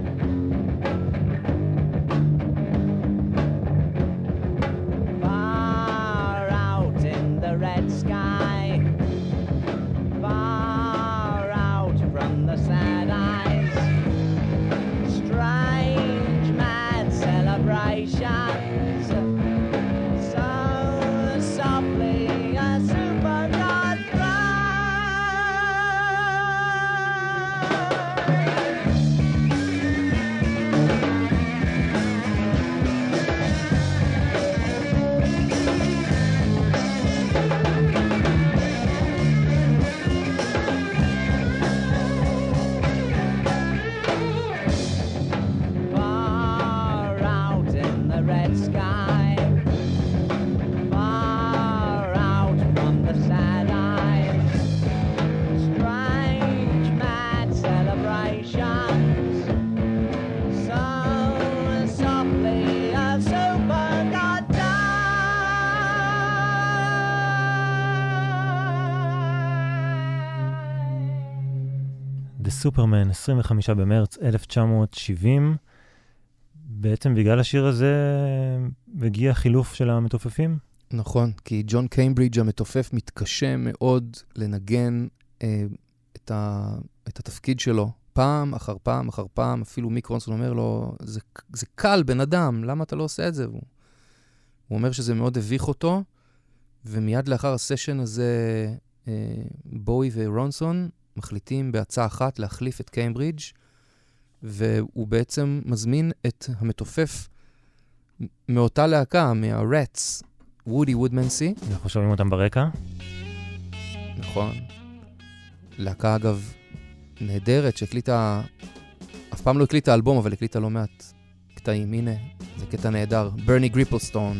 Speaker 8: Far out in the red sky, far out from the sad eyes, strange mad celebrations, so softly a super god far out in the red sky, far out from the sad eyes, strange mad celebrations, so softly a super god
Speaker 3: The Superman, עשרים וחמישה במרץ אלף תשע מאות שבעים. בעצם בגלל השיר הזה הגיע חילוף של המתופפים.
Speaker 4: נכון, כי ג'ון קיימברידג' המתופף מתקשה מאוד לנגן אה, את, ה, את התפקיד שלו. פעם אחר פעם אחר פעם, אפילו מיק רונסון אומר לו, זה, זה קל בן אדם, למה אתה לא עושה את זה? הוא, הוא אומר שזה מאוד הביך אותו, ומיד לאחר הסשן הזה, אה, בואי ורונסון מחליטים בהצעה אחת להחליף את קיימברידג', והוא בעצם מזמין את המתופף מאותה להקה, מה-Rats, וודי וודמנסי.
Speaker 3: אנחנו שומעים אותם ברקע.
Speaker 4: נכון. להקה אגב נהדרת שהקליטה, אף פעם לא הקליטה אלבום, אבל הקליטה לא מעט קטעים. הנה, זה קטע נהדר. ברני גריפלסטון.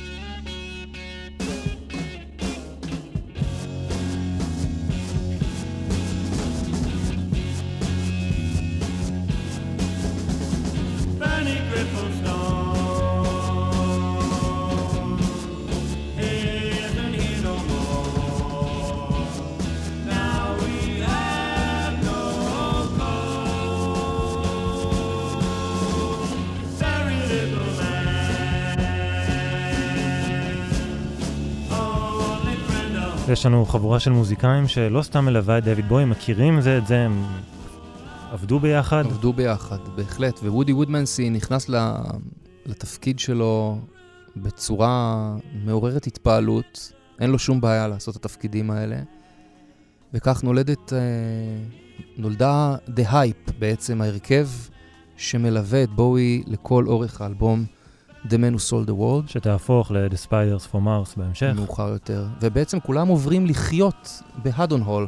Speaker 3: יש לנו חבורה של מוזיקאים שלא סתם מלווה את דויד בוי, מכירים זה את זה, הם עבדו ביחד.
Speaker 4: עבדו ביחד, בהחלט. ווודי וודמנסי נכנס לתפקיד שלו בצורה מעוררת התפעלות. אין לו שום בעיה לעשות את התפקידים האלה. וכך נולדת, נולדה The Hype, בעצם ההרכב שמלווה את בוי לכל אורך האלבום The Man Who Sold the World.
Speaker 3: שתהפוך ל-The Spiders from Mars בהמשך.
Speaker 4: מאוחר יותר. ובעצם כולם עוברים לחיות בהדון הול.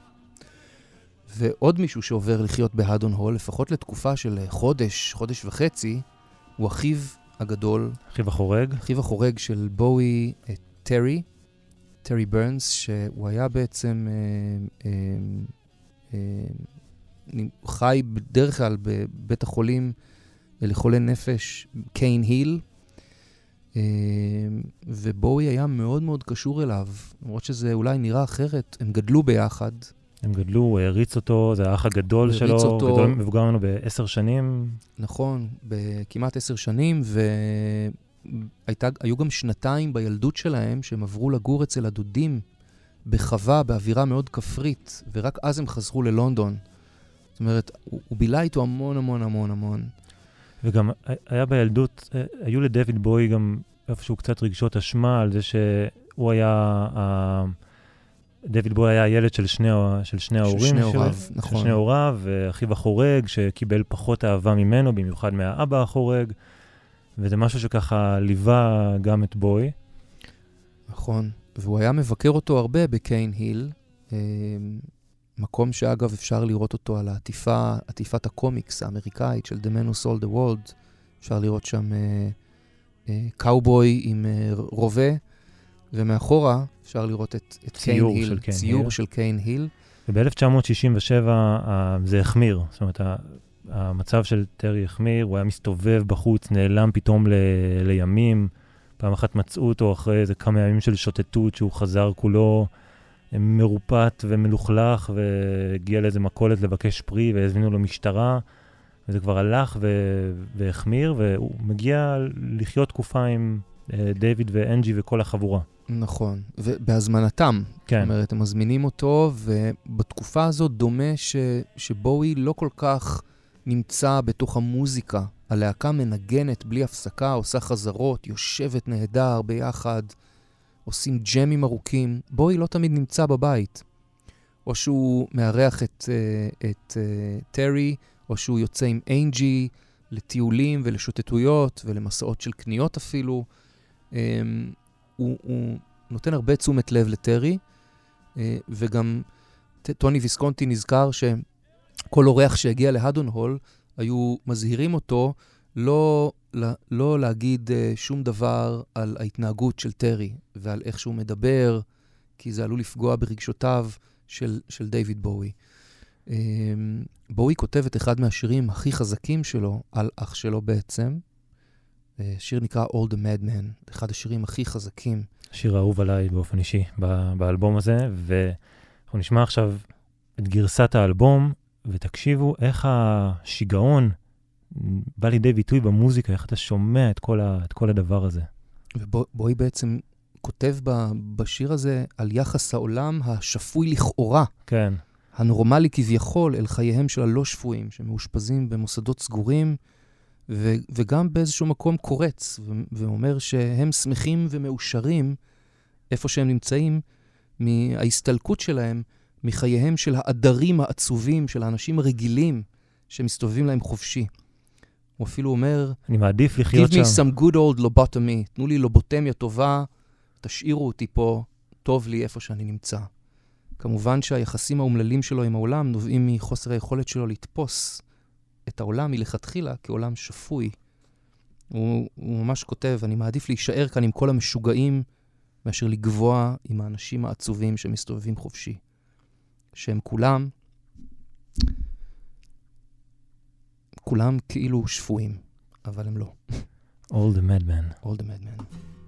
Speaker 4: ועוד מישהו שעובר לחיות בהדון הול, לפחות לתקופה של חודש, חודש וחצי, הוא אחיו הגדול.
Speaker 3: אחיו החורג.
Speaker 4: אחיו החורג של בוי, טרי, טרי ברנס, שהוא היה בעצם אה, אה, אה, חי בדרך כלל בבית החולים לחולי נפש, קיין היל, אה, ובוי היה מאוד מאוד קשור אליו, למרות שזה אולי נראה אחרת, הם גדלו ביחד.
Speaker 3: הם גדלו, הוא הריץ אותו, זה האח הגדול שלו, אותו, גדול מבוגר ממנו בעשר שנים.
Speaker 4: נכון, בכמעט עשר שנים, והיו גם שנתיים בילדות שלהם, שהם עברו לגור אצל הדודים, בחווה, באווירה מאוד כפרית, ורק אז הם חזרו ללונדון. זאת אומרת, הוא, הוא בילה איתו המון המון המון המון.
Speaker 3: וגם היה בילדות, היו לדויד בוי גם איפשהו קצת רגשות אשמה על זה שהוא היה, דויד בוי היה הילד של שני, של שני ההורים
Speaker 4: של שני
Speaker 3: שלו,
Speaker 4: הוריו, נכון.
Speaker 3: של שני הוריו, ואחיו החורג שקיבל פחות אהבה ממנו, במיוחד מהאבא החורג, וזה משהו שככה ליווה גם את בוי.
Speaker 4: נכון, והוא היה מבקר אותו הרבה בקיין היל, מקום שאגב אפשר לראות אותו על העטיפה, עטיפת הקומיקס האמריקאית של The Man Who Sold the World. אפשר לראות שם אה, אה, קאובוי עם אה, רובה, ומאחורה אפשר לראות את, את קיין היל, ציור של קיין היל.
Speaker 3: וב-אלף תשע מאות שישים ושבע אה, זה החמיר. זאת אומרת, המצב של טרי החמיר, הוא היה מסתובב בחוץ, נעלם פתאום ל... לימים, פעם אחת מצאו אותו אחרי איזה כמה ימים של שוטטות, שהוא חזר כולו מרופט ומלוכלך, והגיע לאיזה מכולת לבקש פרי, והזמינו לו משטרה, וזה כבר הלך ו... והחמיר, והוא מגיע לחיות תקופה עם דיוויד ואנג'י וכל החבורה.
Speaker 4: נכון, ובהזמנתם.
Speaker 3: כן.
Speaker 4: זאת אומרת, הם מזמינים אותו, ובתקופה הזאת דומה ש... שבואי לא כל כך נמצא בתוך המוזיקה. הלהקה מנגנת בלי הפסקה, עושה חזרות, יושבת נהדר ביחד, עושים ג'מים ארוכים. בואי לא תמיד נמצא בבית. או שהוא מארח את, את, את טרי, או שהוא יוצא עם אנג'י לטיולים ולשוטטויות ולמסעות של קניות אפילו. הוא, הוא נותן הרבה תשומת לב לטרי, וגם טוני ויסקונטי נזכר שכל אורח שהגיע להדון הול, היו מזהירים אותו לא, לא להגיד שום דבר על ההתנהגות של טרי, ועל איך שהוא מדבר, כי זה עלול לפגוע ברגשותיו של, של דיוויד בואי. בואי כותב את אחד מהשירים הכי חזקים שלו, על אח שלו בעצם, שיר נקרא All the Madman, אחד השירים הכי חזקים.
Speaker 3: שיר אהוב עליי באופן אישי באלבום הזה, ואנחנו נשמע עכשיו את גרסת האלבום, ותקשיבו איך השיגעון בא לידי ביטוי במוזיקה, איך אתה שומע את כל, ה, את כל הדבר הזה.
Speaker 4: ובואי בעצם כותב בשיר הזה על יחס העולם השפוי לכאורה.
Speaker 3: כן.
Speaker 4: הנורמלי כביכול אל חייהם של הלא שפויים, שמאושפזים במוסדות סגורים, ו- וגם באיזשהו מקום קורץ, ו- ואומר שהם שמחים ומאושרים איפה שהם נמצאים, מההסתלקות שלהם, מחייהם של האדרים העצובים, של האנשים הרגילים, שמסתובבים להם חופשי. הוא אפילו אומר,
Speaker 3: אני מעדיף לחיות
Speaker 4: Give me
Speaker 3: שם.
Speaker 4: some good old lobotomy, תנו לי לובוטמיה טובה, תשאירו אותי פה, טוב לי איפה שאני נמצא. כמובן שהיחסים האומללים שלו עם העולם נובעים מחוסר היכולת שלו לתפוס את העולם מלכתחילה כעולם שפוי. הוא, הוא ממש כותב, אני מעדיף להישאר כאן עם כל המשוגעים, מאשר לגבוע עם האנשים העצובים שמסתובבים חופשי. שהם כולם, כולם כאילו שפויים, אבל הם לא.
Speaker 3: All the Madman.
Speaker 4: All the Madman.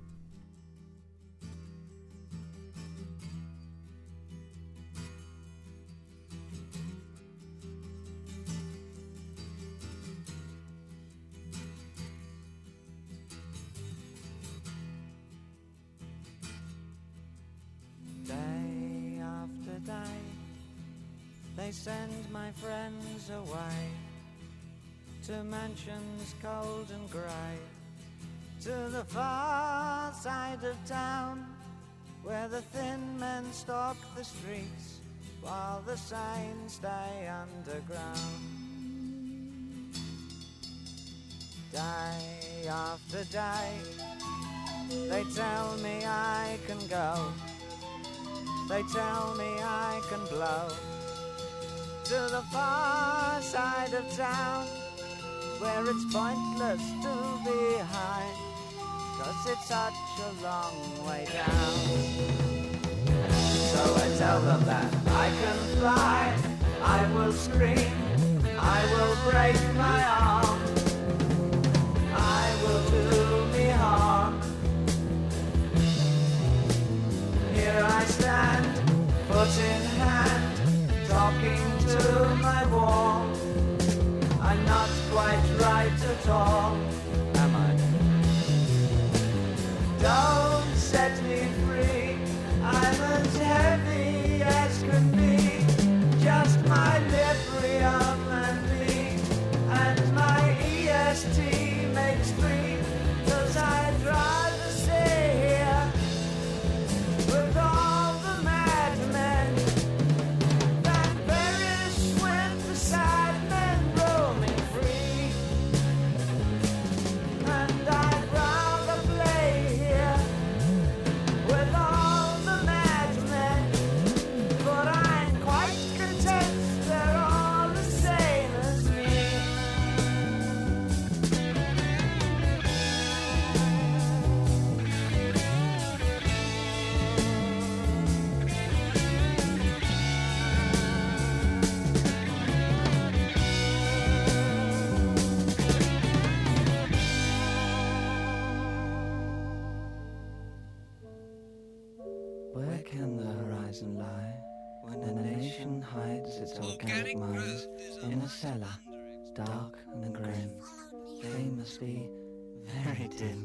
Speaker 5: They send my friends away to mansions cold and grey, to the far side of town, where the thin men stalk the streets while the sane stay underground. Day after day, they tell me I can go, they tell me I can blow to the far side of town, where it's pointless to be high, 'cause it's such a long way down. So I tell them that I can fly, I will scream, I will break my arm, I will do me harm. Here I stand, foot in hand, talking to my wall. I'm not quite right at all, am I? Don't set me free, I'm as heavy as can be, just my librium and me, and my E S T makes three, 'cause I'd rather stay here with all the madmen than perish with the sad men roaming free. And I'd rather play here with all the madmen, but I'm quite content they're all
Speaker 7: Where can the horizon lie when a nation hides its organic mines in a cellar, dark and grim? They must be very dim.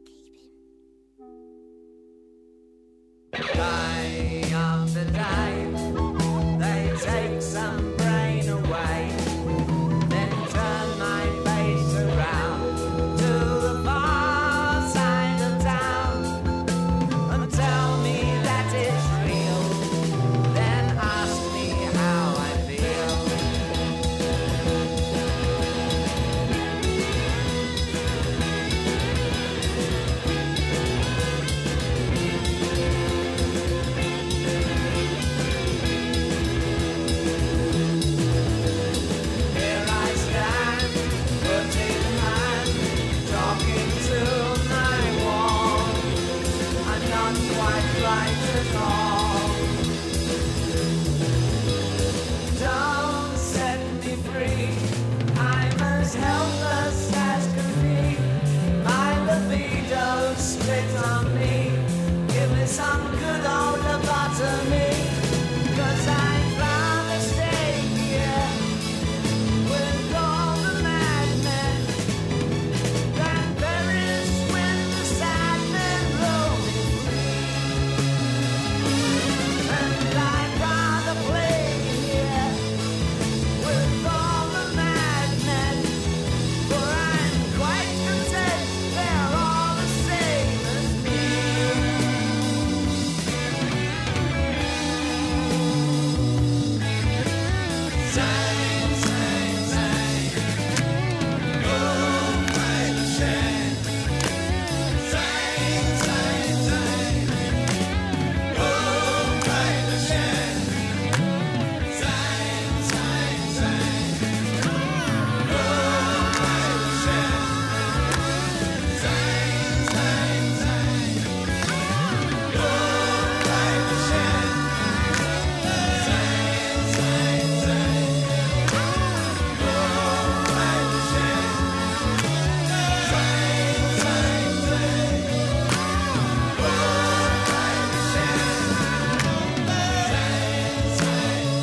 Speaker 5: Day after day, they take some brain away, then turn my face around to the far side of town and tell me that it's real, then ask me how I feel. Here I stand, foot in hand, talking to my wall. I'm not quite right at all. Don't set me free. I'm as helpless as can be. My libido split on me. Give me some good old lobotomy. 'Cause I'd rather stay here with all the madmen than perish with the sad men roaming free. And I'd rather play here with all the madmen, for I'm quite content they're all the same as me. Sing, sing, sing. Go play the shame. Sing, sing, sing. Go play the shame. Sing, sing, sing. Go play the shame. Sing, sing, sing. Go play the shame. Sing, sing, sing. Go play the shame. Sing, sing, sing. Go play the shame. Sing, sing,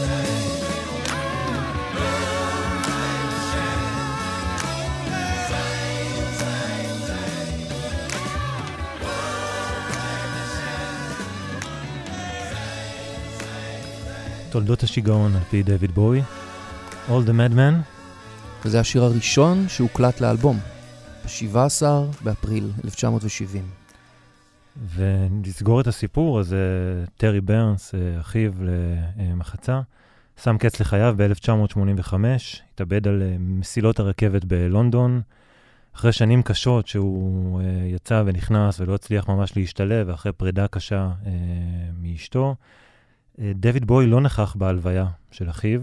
Speaker 3: תולדות השיגעון על פי דויד בוי. All the Madman.
Speaker 4: וזה השיר הראשון שהוקלט לאלבום, ב-שבעה עשר באפריל אלף תשע מאות שבעים.
Speaker 3: ונסגור את הסיפור, אז טרי ברנס, אחיו למחצה, שם קץ לחייו ב-אלף תשע מאות שמונים וחמש, התאבד על מסילות הרכבת בלונדון, אחרי שנים קשות שהוא יצא ונכנס ולא הצליח ממש להשתלב, ואחרי פרידה קשה מאשתו. דויד בוי לא נכח בהלוויה של אחיו,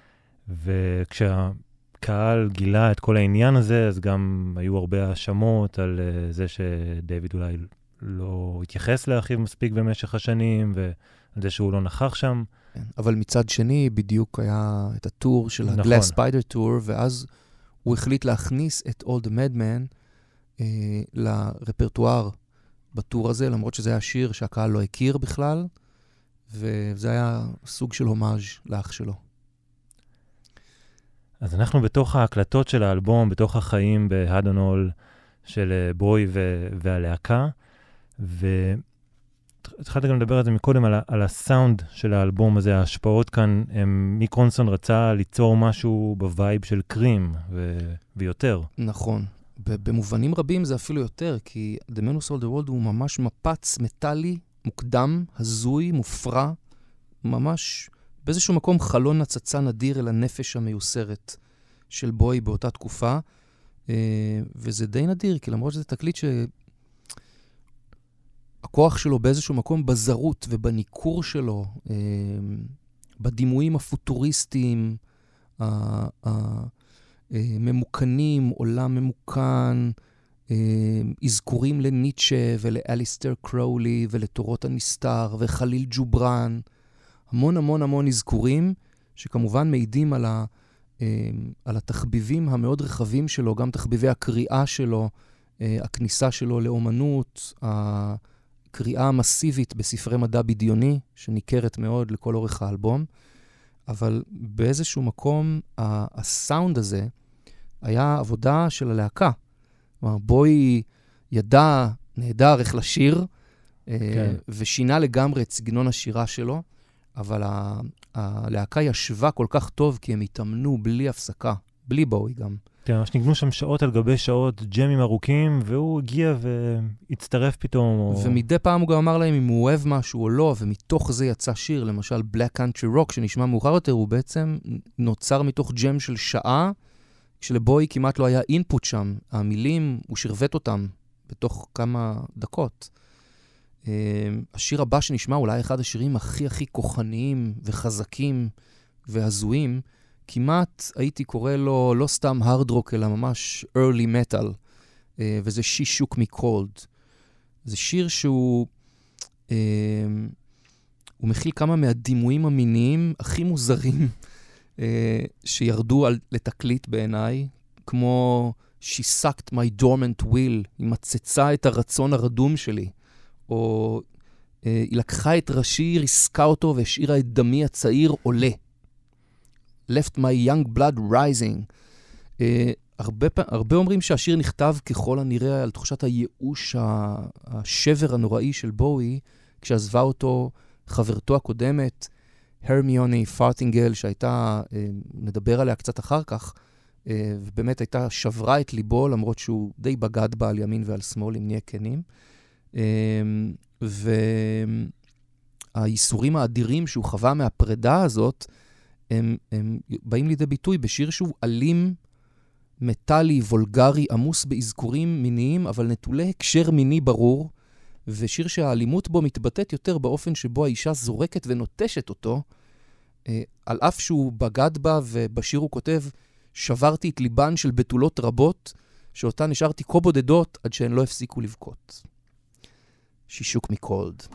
Speaker 3: וכשהקהל גילה את כל העניין הזה, אז גם היו הרבה האשמות על זה שדויד אולי לא התייחס לאחיו מספיק במשך השנים, ועל זה שהוא לא נכח שם.
Speaker 4: כן, אבל מצד שני, בדיוק היה את הטור של
Speaker 3: נכון.
Speaker 4: ה-Glass Spider Tour, ואז הוא החליט להכניס את All the Madman אה, לרפרטואר בטור הזה, למרות שזה היה שיר שהקהל לא הכיר בכלל, וזה היה סוג של הומאז' לאח שלו.
Speaker 3: אז אנחנו בתוך ההקלטות של האלבום, בתוך החיים בהדונול של בוי ו- והלהקה, והתחלתי גם לדבר על זה מקודם, על, ה- על הסאונד של האלבום הזה, ההשפעות כאן, הם, מיק רונסון רצה ליצור משהו בווייב של קרים ו- ויותר.
Speaker 4: נכון. במובנים רבים זה אפילו יותר, כי The Man Who Sold the World הוא ממש מפץ מטלי, מוקדם, הזוי, מופרע, ממש באיזשהו מקום חלון הצצה נדיר אל הנפש המיוסרת של בוי באותה תקופה, וזה די נדיר, כי למרות שזה תקליט שהכוח שלו באיזשהו מקום בזרות ובניקור שלו, בדימויים הפוטוריסטיים, ממוקנים, עולם ממוקן, אזכורים לניטשה ולאליסטר קראולי ולתורות הנסתר וחליל ג'וברן, המון המון המון אזכורים שכמובן מעידים על, ה, על התחביבים המאוד רחבים שלו, גם תחביבי הקריאה שלו, הכניסה שלו לאומנות, קריאה מסיבית בספרי מדע בדיוני, שניכרת מאוד לכל אורך האלבום, אבל באיזשהו מקום הסאונד הזה היה עבודה של הלהקה. כלומר, בוי ידע נהדר איך לשיר, כן. ושינה לגמרי את סגנון השירה שלו, אבל ה- הלהקה ישבה כל כך טוב, כי הם התאמנו בלי הפסקה, בלי בוי גם.
Speaker 3: כן, ממש ניגנו שם שעות על גבי שעות, ג'מים ארוכים, והוא הגיע והצטרף פתאום. או...
Speaker 4: ומדי פעם הוא גם אמר להם אם הוא אוהב משהו או לא, ומתוך זה יצא שיר, למשל Black Country Rock, שנשמע מאוחר יותר, הוא בעצם נוצר מתוך ג'ם של שעה, כשלבוי כמעט לא היה אינפוט שם. המילים, הוא שרבט אותם בתוך כמה דקות. השיר הבא שנשמע, אולי אחד השירים הכי הכי כוחניים וחזקים והזויים, כמעט הייתי קורא לו לא סתם hard rock, אלא ממש early metal, וזה She Shook Me Cold. זה שיר שהוא הוא מכיל כמה מהדימויים המיניים הכי מוזרים שירדו על, לתקליט בעיניי, כמו She Sucked My Dormant Will, היא מצצה את הרצון הרדום שלי, או היא לקחה את ראשי, ריסקה אותו והשאירה את דמי הצעיר עולה. Left my young blood rising. Uh, הרבה, הרבה אומרים שהשיר נכתב ככל הנראה על תחושת הייאוש, השבר הנוראי של בואי, כשעזבה אותו חברתו הקודמת, הרמיוני פארטינגל, שהייתה, uh, נדבר עליה קצת אחר כך, uh, ובאמת הייתה שברה את ליבו, למרות שהוא די בגד בה על ימין ועל שמאל, אם נהיה כנים. Uh, והייסורים האדירים שהוא חווה מהפרידה הזאת, הם, הם באים לידי ביטוי בשיר שהוא אלים, מטלי, וולגרי, עמוס באזכורים מיניים, אבל נטולי הקשר מיני ברור, ושיר שהאלימות בו מתבטאת יותר באופן שבו האישה זורקת ונוטשת אותו, אה, על אף שהוא בגד בה, ובשיר הוא כותב, שברתי את ליבן של בתולות רבות, שאותה נשארתי כה בודדות עד שהן לא הפסיקו לבכות. She shook me cold.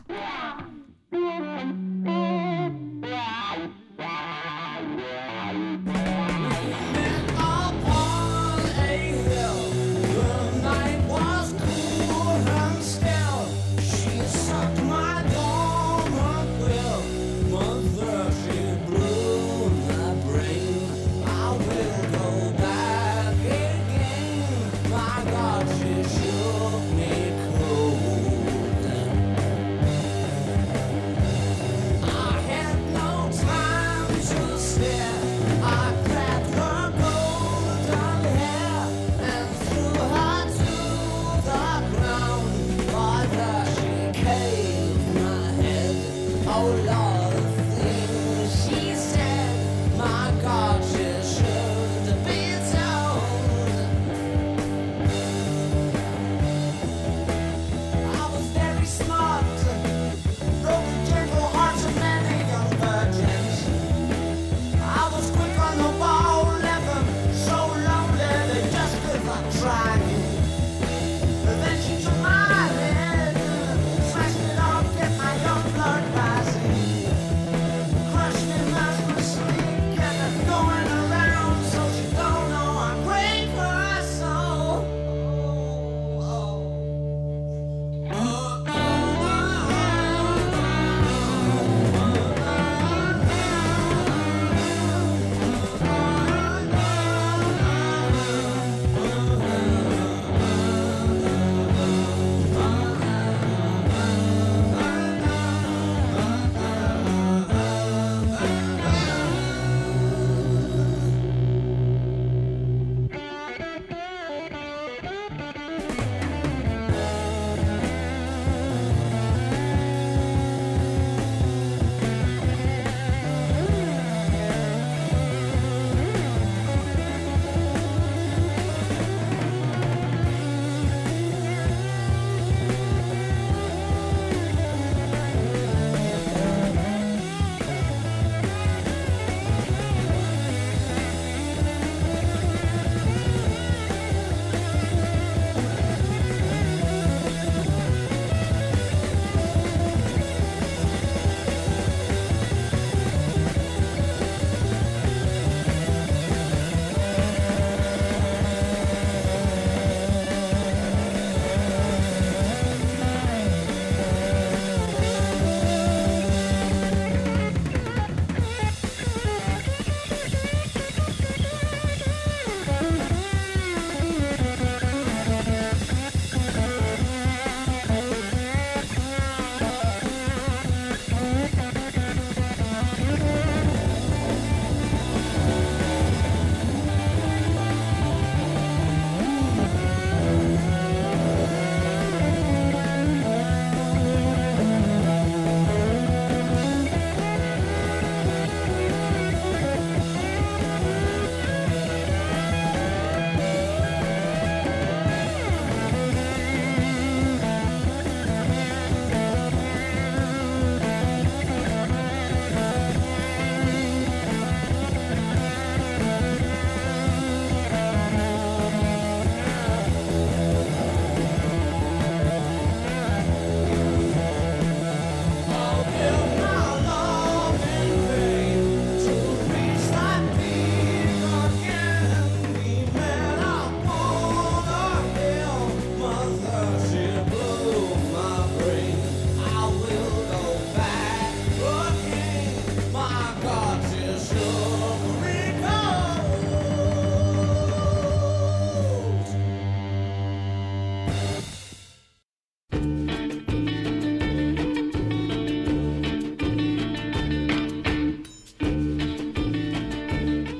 Speaker 8: Then she took my hand, smashed it off, get my young blood rising.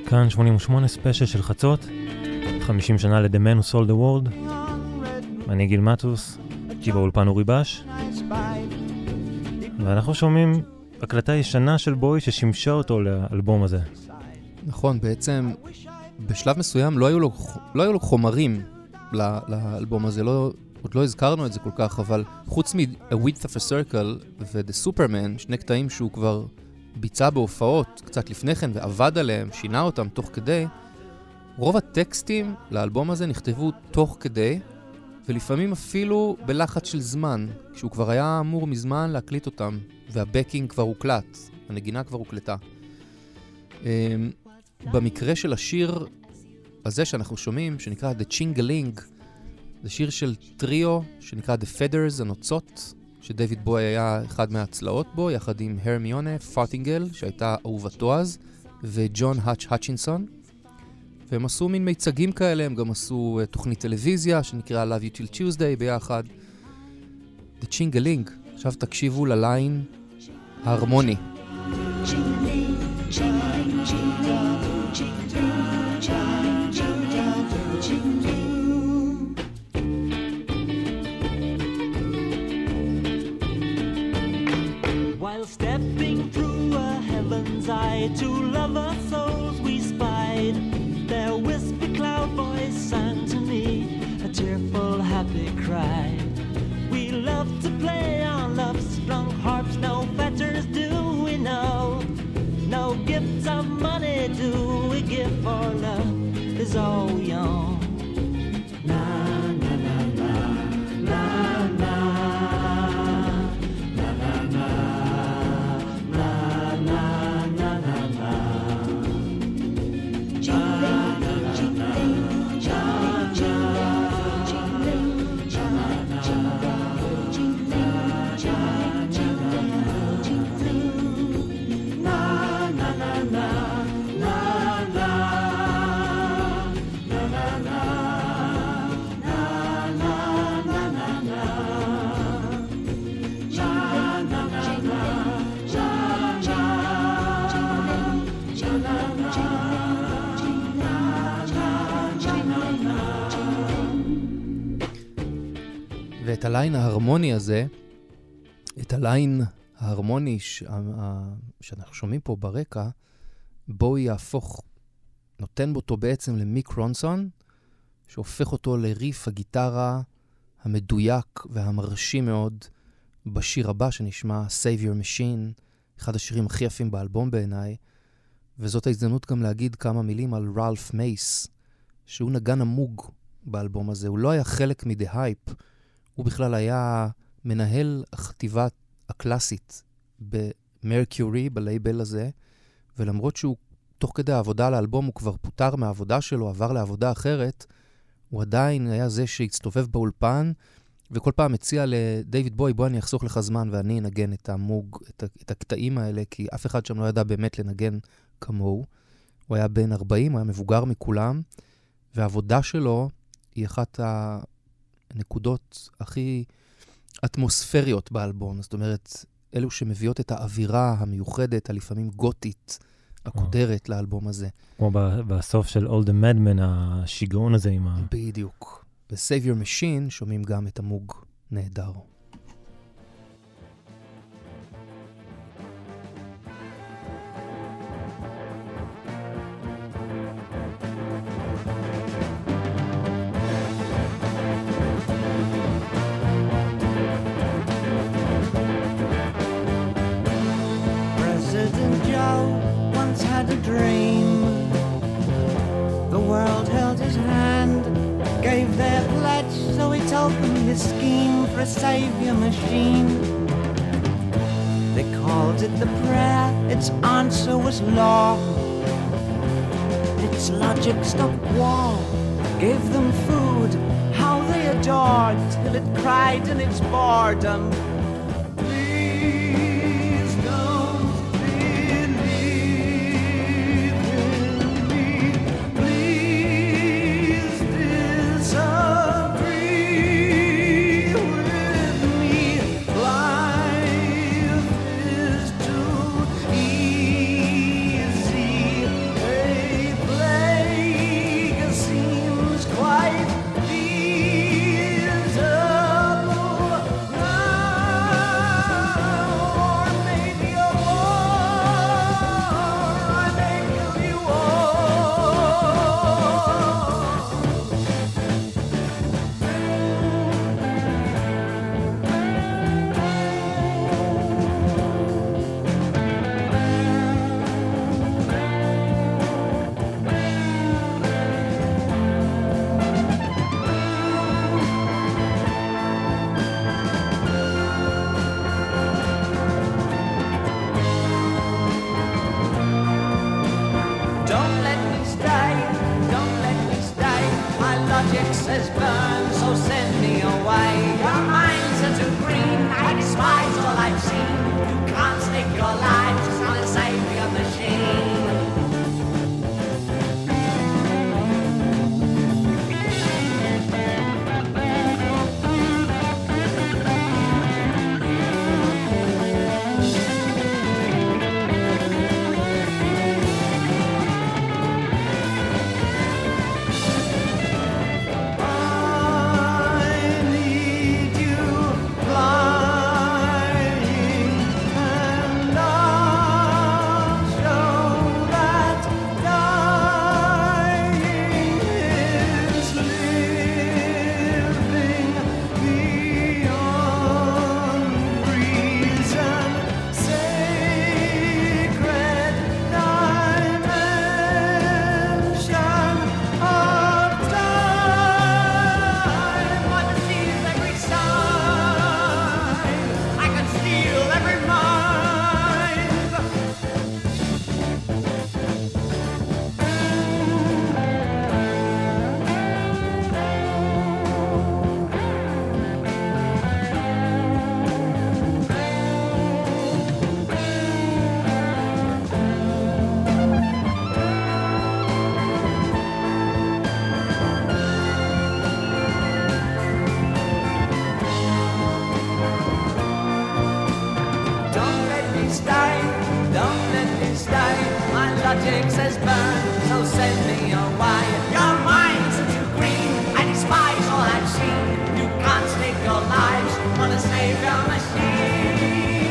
Speaker 3: כאן שמונים ושמונה ספיישל של חצות, חמישים שנה ל-The Man Who Sold the World. אני גיל מטוס, כי באולפן אורי בש. ואנחנו שומעים הקלטה ישנה של בוי ששימשה אותו לאלבום הזה.
Speaker 4: נכון, בעצם בשלב מסוים לא היו לו, לא היו לו חומרים ל- לאלבום הזה, לא, עוד לא הזכרנו את זה כל כך, אבל חוץ מ-A Width of a Circle ו-The Superman, שני קטעים שהוא כבר ביצע בהופעות קצת לפני כן ועבד עליהם, שינה אותם תוך כדי, רוב הטקסטים לאלבום הזה נכתבו תוך כדי, ולפעמים אפילו בלחץ של זמן, כשהוא כבר היה אמור מזמן להקליט אותם, והבקינג כבר הוקלט, הנגינה כבר הוקלטה. במקרה של השיר הזה שאנחנו שומעים, שנקרא The Chingaling, זה שיר של טריו שנקרא The Feathers, הנוצות, שדייוויד בוי היה אחד מהצלעות בו, יחד עם הרמיונה פוטינגל, שהייתה אהובתו אז, וג'ון האץ' האצ'ינסון. והם עשו מין מיצגים כאלה, הם גם עשו uh, תוכנית טלוויזיה שנקרא Love You Till Tuesday ביחד. The Chingaling, עכשיו תקשיבו לליין ההרמוני.
Speaker 9: While stepping through a heaven's eye, two lover souls we spied. Their wispy cloud voice sang to me a tearful, happy cry. We love to play on love-strung harps, no fetters do we know. No gifts of money do we give, for love is all we own. Na na na na na na.
Speaker 4: ואת הליין ההרמוני הזה, את הליין ההרמוני ש... שאנחנו שומעים פה ברקע, בואי יהפוך, נותן אותו בעצם למיק רונסון, שהופך אותו לריף הגיטרה המדויק והמרשים מאוד בשיר הבא שנשמע Save Your Machine, אחד השירים הכי יפים באלבום בעיניי, וזאת ההזדמנות גם להגיד כמה מילים על רלף מייס, שהוא נגן המוג באלבום הזה. הוא לא היה חלק מ-The Hype, הוא בכלל היה מנהל הכתיבה הקלאסית במרקיורי, בלייבל הזה, ולמרות שהוא תוך כדי העבודה על האלבום, הוא כבר פוטר מהעבודה שלו, עבר לעבודה אחרת, הוא עדיין היה זה שהצטובב באולפן, וכל פעם הציע לדייוויד בוי, בוא אני אחסוך לך זמן ואני אנגן את המוג, את, את הקטעים האלה, כי אף אחד שם לא ידע באמת לנגן כמוהו. הוא היה בן ארבעים, הוא היה מבוגר מכולם, והעבודה שלו היא אחת הנקודות הכי אטמוספריות באלבום. זאת אומרת, אלו שמביאות את האווירה המיוחדת, הלפעמים גותית, הקודרת לאלבום הזה.
Speaker 3: כמו בסוף של All the Madmen, השיגעון הזה עם ה...
Speaker 4: בדיוק. ב-Save Your Machine שומעים גם את המוג נהדר.
Speaker 8: President Joe once had a dream. The world held his hand, gave their pledge, so he told them his scheme for a savior machine. They called it the prayer, its answer was law. Its logic stopped war, gave them food, how they adored, till it cried in its boredom. says burn, so send me away. Your minds are too green, I despise all I've seen. You can't stake your lives on a savior machine. Logic says burn, so send me away. Your minds are too green, I despise all I've seen. You can't stake your lives on a savior machine.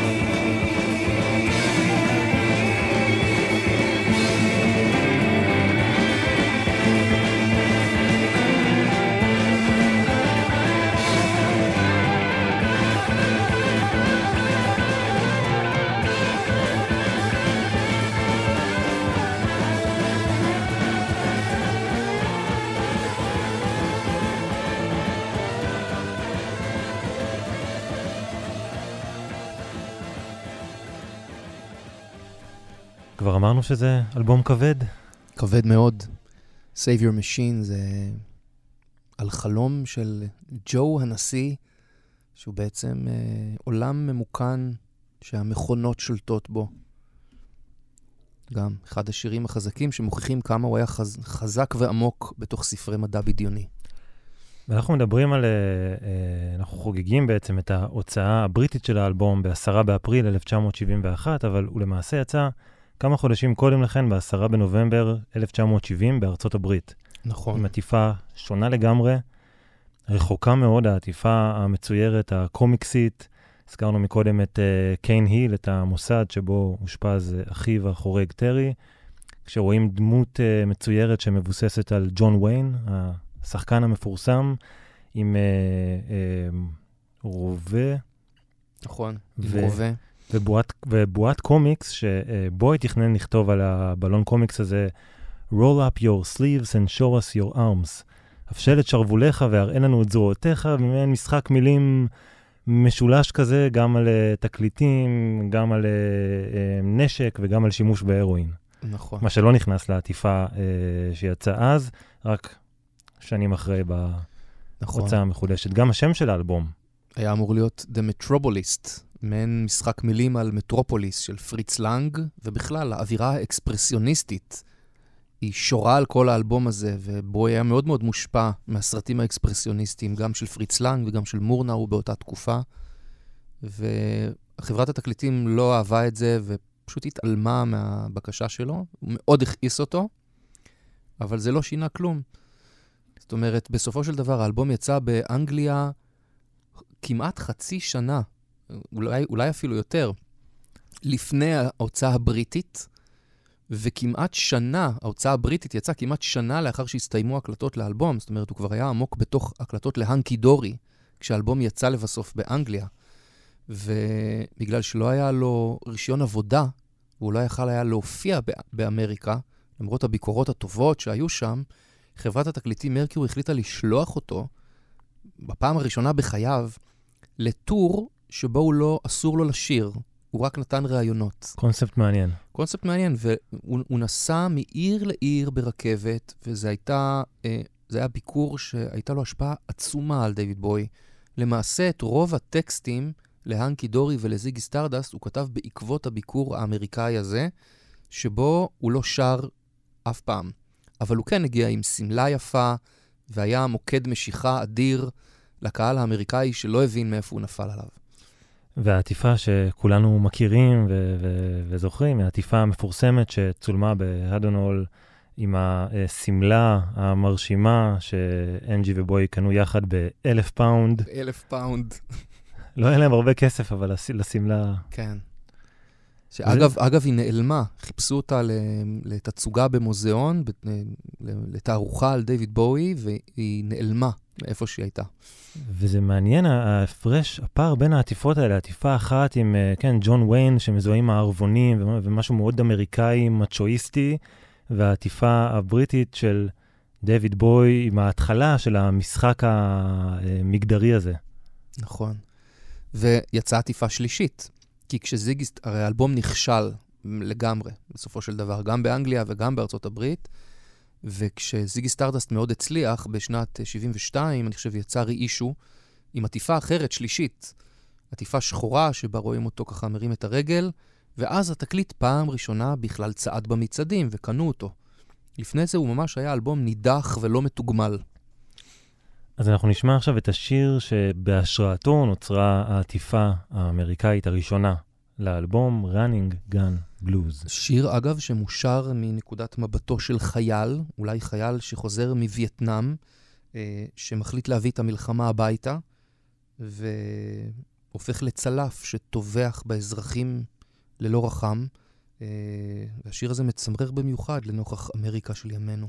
Speaker 3: כבר אמרנו שזה אלבום כבד.
Speaker 4: כבד מאוד. Save Your Machine זה על חלום של ג'ו הנשיא, שהוא בעצם אה, עולם ממוכן שהמכונות שולטות בו. גם אחד השירים החזקים שמוכיחים כמה הוא היה חז, חזק ועמוק בתוך ספרי מדע בדיוני.
Speaker 3: ואנחנו מדברים על, אנחנו חוגגים בעצם את ההוצאה הבריטית של האלבום בעשרה באפריל אלף תשע מאות שבעים ואחת, אבל הוא למעשה יצא כמה חודשים קודם לכן, בעשרה בנובמבר אלף תשע מאות שבעים בארצות הברית.
Speaker 4: נכון.
Speaker 3: עם עטיפה שונה לגמרי, רחוקה מאוד, העטיפה המצוירת, הקומיקסית. הזכרנו מקודם את uh, קיין היל, את המוסד שבו הושפז uh, אחיו החורג טרי, כשרואים דמות uh, מצוירת שמבוססת על ג'ון ויין, השחקן המפורסם, עם uh, uh, רובה.
Speaker 4: נכון,
Speaker 3: ו-
Speaker 4: עם רובה.
Speaker 3: ובועת, ובועת קומיקס, שבו תכנן לכתוב על הבלון קומיקס הזה, roll up your sleeves and show us your arms. הפשל את שרבוליך והראה לנו את זרועותיך, ומעין משחק מילים משולש כזה, גם על uh, תקליטים, גם על uh, uh, נשק וגם על שימוש בהרואין.
Speaker 4: נכון.
Speaker 3: מה שלא נכנס לעטיפה uh, שיצא אז, רק שנים אחרי בהוצאה נכון. המחודשת. גם השם של האלבום.
Speaker 4: היה אמור להיות The Metropolist, מעין משחק מילים על מטרופוליס של פריץ לנג, ובכלל האווירה האקספרסיוניסטית היא שורה על כל האלבום הזה, ובו היה מאוד מאוד מושפע מהסרטים האקספרסיוניסטיים, גם של פריץ לנג וגם של מורנאו באותה תקופה. וחברת התקליטים לא אהבה את זה, ופשוט התעלמה מהבקשה שלו. הוא מאוד הכעיס אותו, אבל זה לא שינה כלום. זאת אומרת, בסופו של דבר האלבום יצא באנגליה כמעט חצי שנה, אולי, אולי אפילו יותר, לפני ההוצאה הבריטית, וכמעט שנה, ההוצאה הבריטית יצאה כמעט שנה לאחר שהסתיימו הקלטות לאלבום, זאת אומרת, הוא כבר היה עמוק בתוך הקלטות להנקי דורי, כשהאלבום יצא לבסוף באנגליה, ובגלל שלא היה לו רישיון עבודה, והוא לא יכל היה להופיע באמריקה, למרות הביקורות הטובות שהיו שם, חברת התקליטים מרקיורי החליטה לשלוח אותו, בפעם הראשונה בחייו, לטור שבו הוא לא, אסור לו לשיר, הוא רק נתן ראיונות.
Speaker 3: קונספט מעניין.
Speaker 4: קונספט מעניין, והוא נסע מעיר לעיר ברכבת, וזה הייתה, אה, זה היה ביקור שהייתה לו השפעה עצומה על דיוויד בוי. למעשה, את רוב הטקסטים להנקי דורי ולזיגי סטרדסט הוא כתב בעקבות הביקור האמריקאי הזה, שבו הוא לא שר אף פעם. אבל הוא כן הגיע עם סמלה יפה, והיה מוקד משיכה אדיר לקהל האמריקאי שלא הבין מאיפה הוא נפל עליו.
Speaker 3: והעטיפה שכולנו מכירים ו- ו- וזוכרים, העטיפה המפורסמת שצולמה בהדונול עם הסמלה המרשימה שאנג'י ובוי קנו יחד באלף פאונד.
Speaker 4: אלף פאונד.
Speaker 3: לא היה להם הרבה כסף, אבל לסמלה...
Speaker 4: כן. שאגב, זה... אגב, היא נעלמה. חיפשו אותה לתצוגה במוזיאון, לתערוכה על דיוויד בואי, והיא נעלמה מאיפה שהיא הייתה.
Speaker 3: וזה מעניין, ההפרש, הפער בין העטיפות האלה, העטיפה אחת עם, כן, ג'ון ויין, שמזוהים הערבונים, ומשהו מאוד אמריקאי, מצ'ואיסטי, והעטיפה הבריטית של דיוויד בואי, עם ההתחלה של המשחק המגדרי הזה.
Speaker 4: נכון. ויצאה עטיפה שלישית. כי כשזיגי, הרי האלבום נכשל לגמרי, בסופו של דבר, גם באנגליה וגם בארצות הברית, וכשזיגי סטרדסט מאוד הצליח, בשנת שבעים ושתיים, אני חושב, יצא רי-אישו, עם עטיפה אחרת, שלישית, עטיפה שחורה, שבה רואים אותו ככה מרים את הרגל, ואז התקליט פעם ראשונה בכלל צעד במצעדים, וקנו אותו. לפני זה הוא ממש היה אלבום נידח ולא מתוגמל.
Speaker 3: אז אנחנו נשמע עכשיו את השיר שבהשראתו נוצרה העטיפה האמריקאית הראשונה לאלבום Running Gun Blues.
Speaker 4: שיר, אגב, שמושר מנקודת מבטו של חייל, אולי חייל שחוזר מווייטנאם, אה, שמחליט להביא את המלחמה הביתה, והופך לצלף שטובח באזרחים ללא רחם. אה, והשיר הזה מצמרר במיוחד לנוכח אמריקה של ימינו.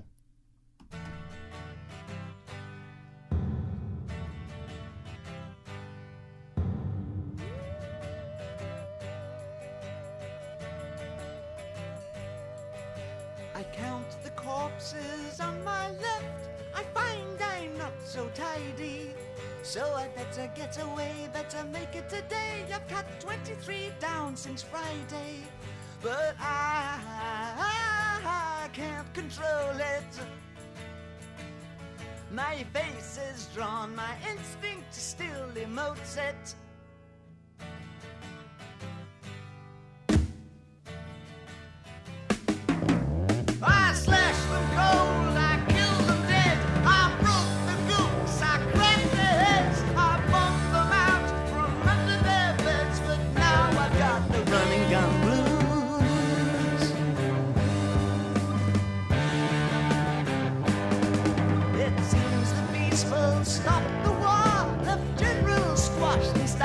Speaker 10: On my left, I find I'm not so tidy, so I better get away, better make it today. I've cut twenty-three down since Friday, but I, I can't control it. My face is drawn, my instinct still emotes it. I slash them cold, I kill them dead, I broke the goose, I cracked their heads, I bumped them out from under their beds, but now I've got the running gun blues. It seems the peaceful stopped the war, left generals squashed and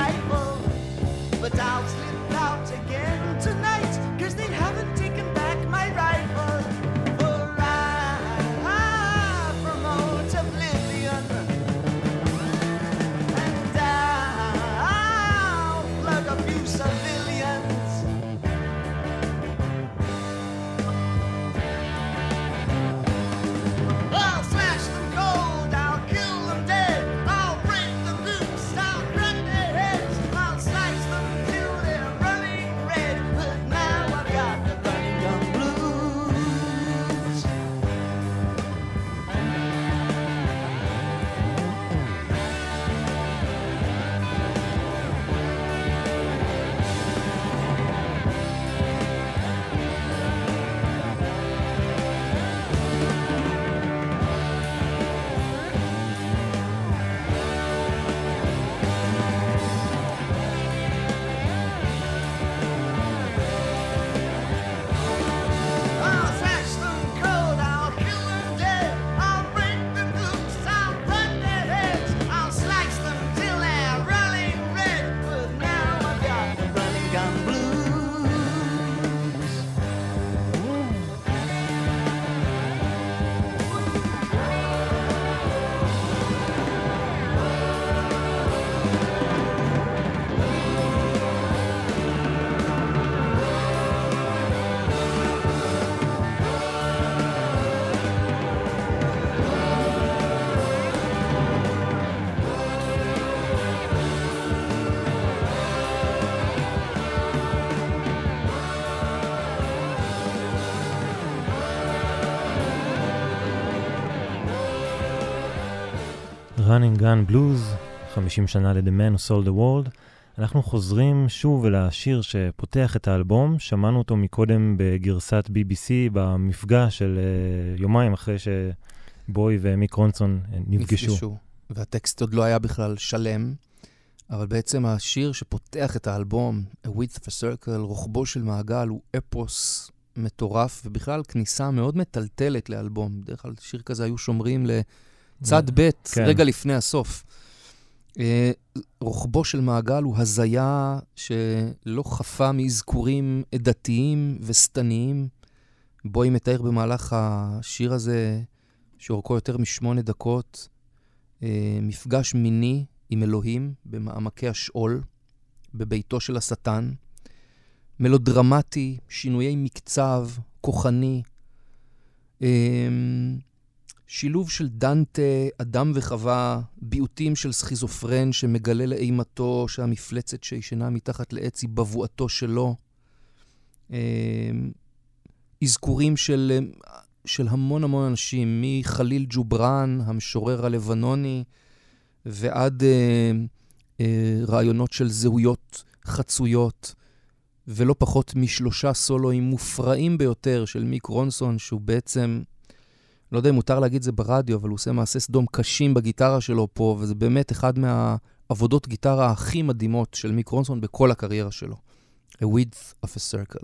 Speaker 3: Running Gun Blues, חמישים שנה ל-The Man Who Sold the World. אנחנו חוזרים שוב אל השיר שפותח את האלבום, שמענו אותו מקודם בגרסת בי בי סי במפגש של uh, יומיים אחרי שבוי ומיק רונסון נפגשו. נפגשו,
Speaker 4: והטקסט עוד לא היה בכלל שלם, אבל בעצם השיר שפותח את האלבום, A Width of a Circle, רוחבו של מעגל, הוא אפוס מטורף, ובכלל כניסה מאוד מטלטלת לאלבום. בדרך כלל שיר כזה היו שומרים לצד ב' כן. רגע לפני הסוף. רוחבו של מעגל הוא הזיה שלא חפה מאזכורים עדתיים וסתניים. בואי מתאר במהלך השיר הזה, שאורכו יותר משמונה דקות, מפגש מיני עם אלוהים במעמקי השאול, בביתו של השטן. מלודרמטי, שינויי מקצב, כוחני, שילוב של דנטה, אדם וחווה, ביוטים של סכיזופרן שמגלה לאימתו שהמפלצת שישנה מתחת לעץ היא בבואתו שלו. אזכורים של, של המון המון אנשים, מחליל ג'וברן, המשורר הלבנוני, ועד אה, אה, רעיונות של זהויות חצויות, ולא פחות משלושה סולואים מופרעים ביותר של מיק רונסון, שהוא בעצם, לא יודע אם מותר להגיד זה ברדיו, אבל הוא עושה מעשה סדום קשים בגיטרה שלו פה, וזה באמת אחד מהעבודות גיטרה הכי מדהימות של מיק רונסון בכל הקריירה שלו. A Width of a Circle.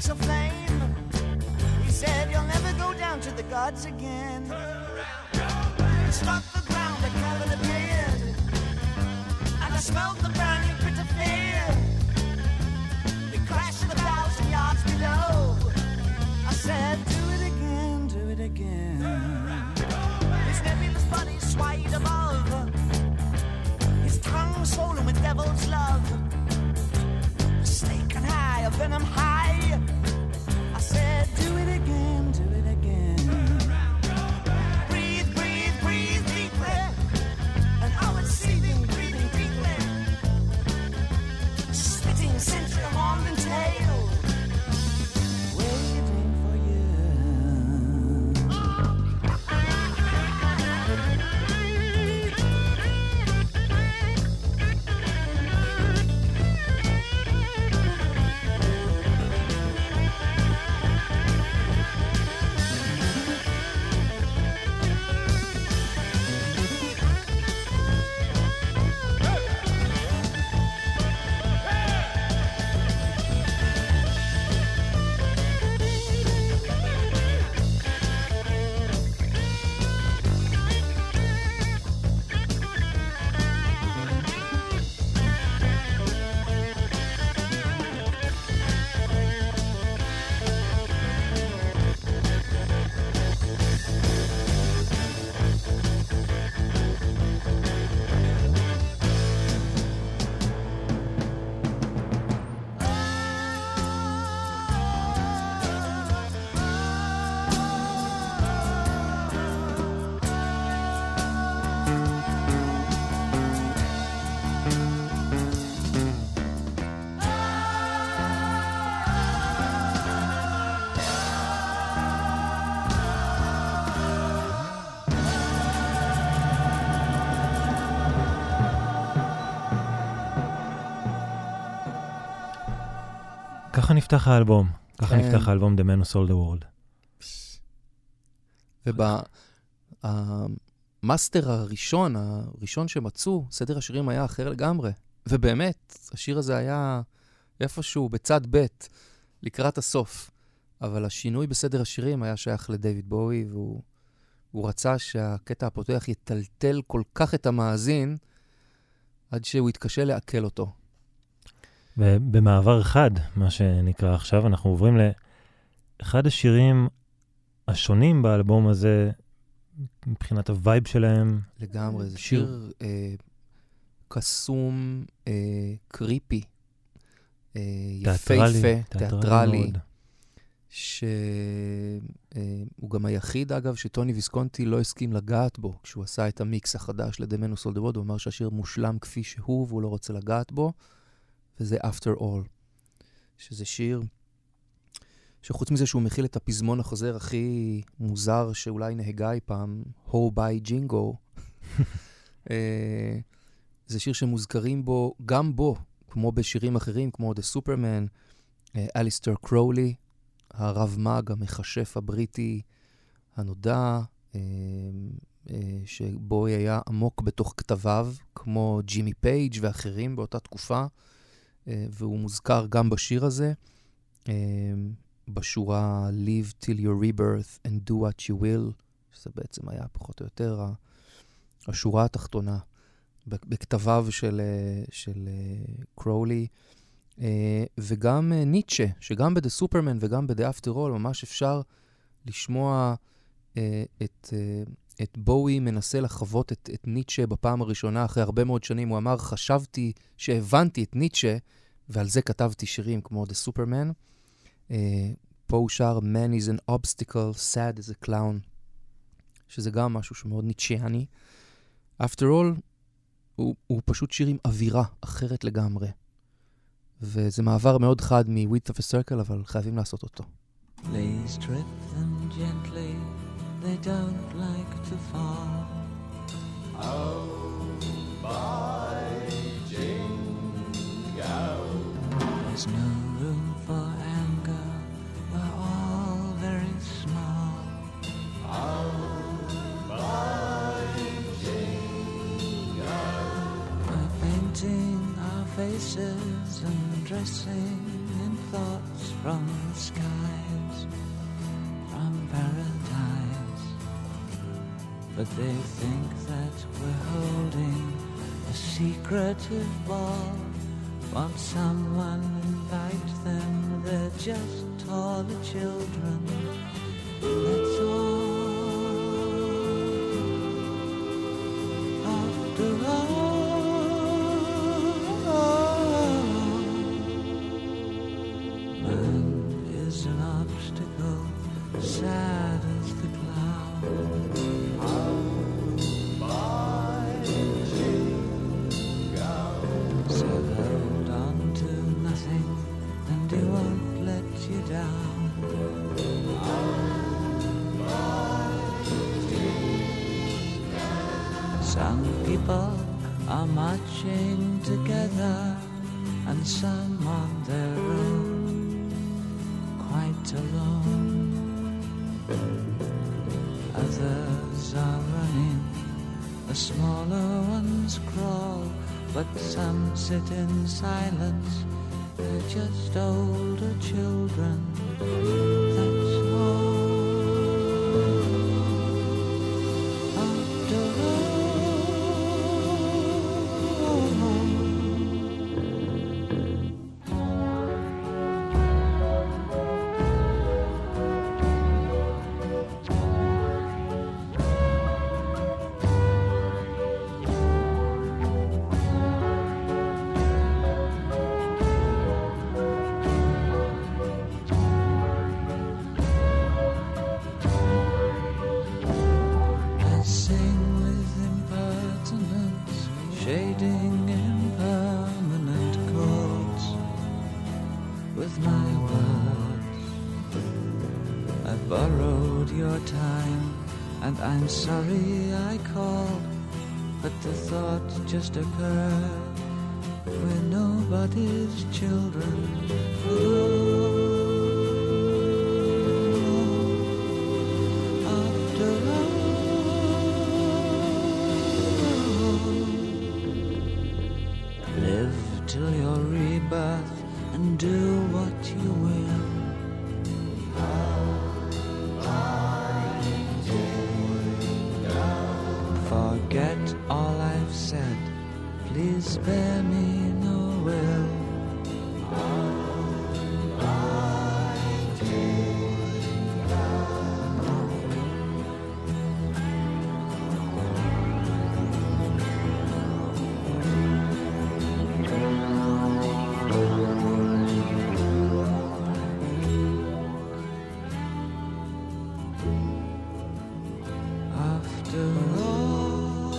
Speaker 10: lights a flame. He said, you'll never go down to the gods again. He struck the ground, the cavern appeared, and I smelled the burning pit of fear. We crashed a thousand yards below. I said, do it again, do it again. His nebulous body swayed above, his tongue swollen with devil's love. A snake and high, a venom high. I said, do it again, do it again. Breathe, breathe, breathe deeply. And I was seething, breathing deeply. Spitting century of horn and tail. Waiting for you.
Speaker 3: ככה נפתח האלבום, ככה נפתח האלבום The Man Who Sold the World.
Speaker 4: ובמאסטר הראשון, הראשון שמצאו, סדר השירים היה אחר לגמרי. ובאמת, השיר הזה היה איפשהו בצד ב' לקראת הסוף. אבל השינוי בסדר השירים היה שייך לדייוויד בואי, והוא הוא רצה שהקטע הפותח יטלטל כל כך את המאזין, עד שהוא יתקשה לעכל אותו.
Speaker 3: ובמעבר אחד, מה שנקרא עכשיו, אנחנו עוברים לאחד השירים השונים באלבום הזה, מבחינת הווייב שלהם.
Speaker 4: לגמרי, זה שיר, שיר אה, קסום, אה, קריפי, אה, יפהפה, תיאטרלי, שהוא אה, גם היחיד, אגב, שטוני ויסקונטי לא הסכים לגעת בו, כשהוא עשה את המיקס החדש ל-The Man Who Sold the World, הוא אמר שהשיר מושלם כפי שהוא, והוא לא רוצה לגעת בו, וזה After All, שזה שיר שחוץ מזה שהוא מכיל את הפזמון החוזר הכי מוזר שאולי נהגה אי פעם, Ho by Jingo, זה שיר שמוזכרים בו, גם בו, כמו בשירים אחרים, כמו The Superman, אליסטר קרולי, הרב מג, המחשף הבריטי הנודע, שבו היה עמוק בתוך כתביו, כמו ג'ימי פייג' ואחרים באותה תקופה, והוא מוזכר גם בשיר הזה, בשורה Live till your rebirth and do what you will, שזה בעצם היה פחות או יותר השורה התחתונה בכתביו של, של קרולי, וגם ניטשה, שגם ב-The Superman וגם ב-The After All ממש אפשר לשמוע את, את בואי מנסה לחוות את, את ניטשה בפעם הראשונה, אחרי הרבה מאוד שנים. הוא אמר, חשבתי שהבנתי את ניטשה, ועל זה כתבתי שירים כמו The Superman. Uh, פה הוא שר Man is an obstacle, sad as a clown, שזה גם משהו שמאוד ניטשיאני. After all, הוא, הוא פשוט שיר עם אווירה אחרת לגמרי. וזה מעבר מאוד חד מ-Width of a Circle, אבל חייבים לעשות אותו.
Speaker 9: Please trip them gently, they don't like to fall. Oh, by Jingo. There's no room for anger, we're all very small. Oh, by Jingo. We're painting our faces
Speaker 5: faces undressing in thoughts from the skies, from paradise. But they think that we're holding a secretive ball. Want someone invite them, they're just taller children, that's all. After all, man is an obstacle, sad as the cloud. So hold on to nothing, and he won't let you down. Some people are marching together, and some on their own, quite alone. Others are running, the smaller ones crawl, but some sit in silence, they're just older children, that's all. After I'm sorry I called, but the thought just occurred, we're nobody's children at all. After all, live till your rebirth and do what you will. Forget all I've said, please spare me no will. After all,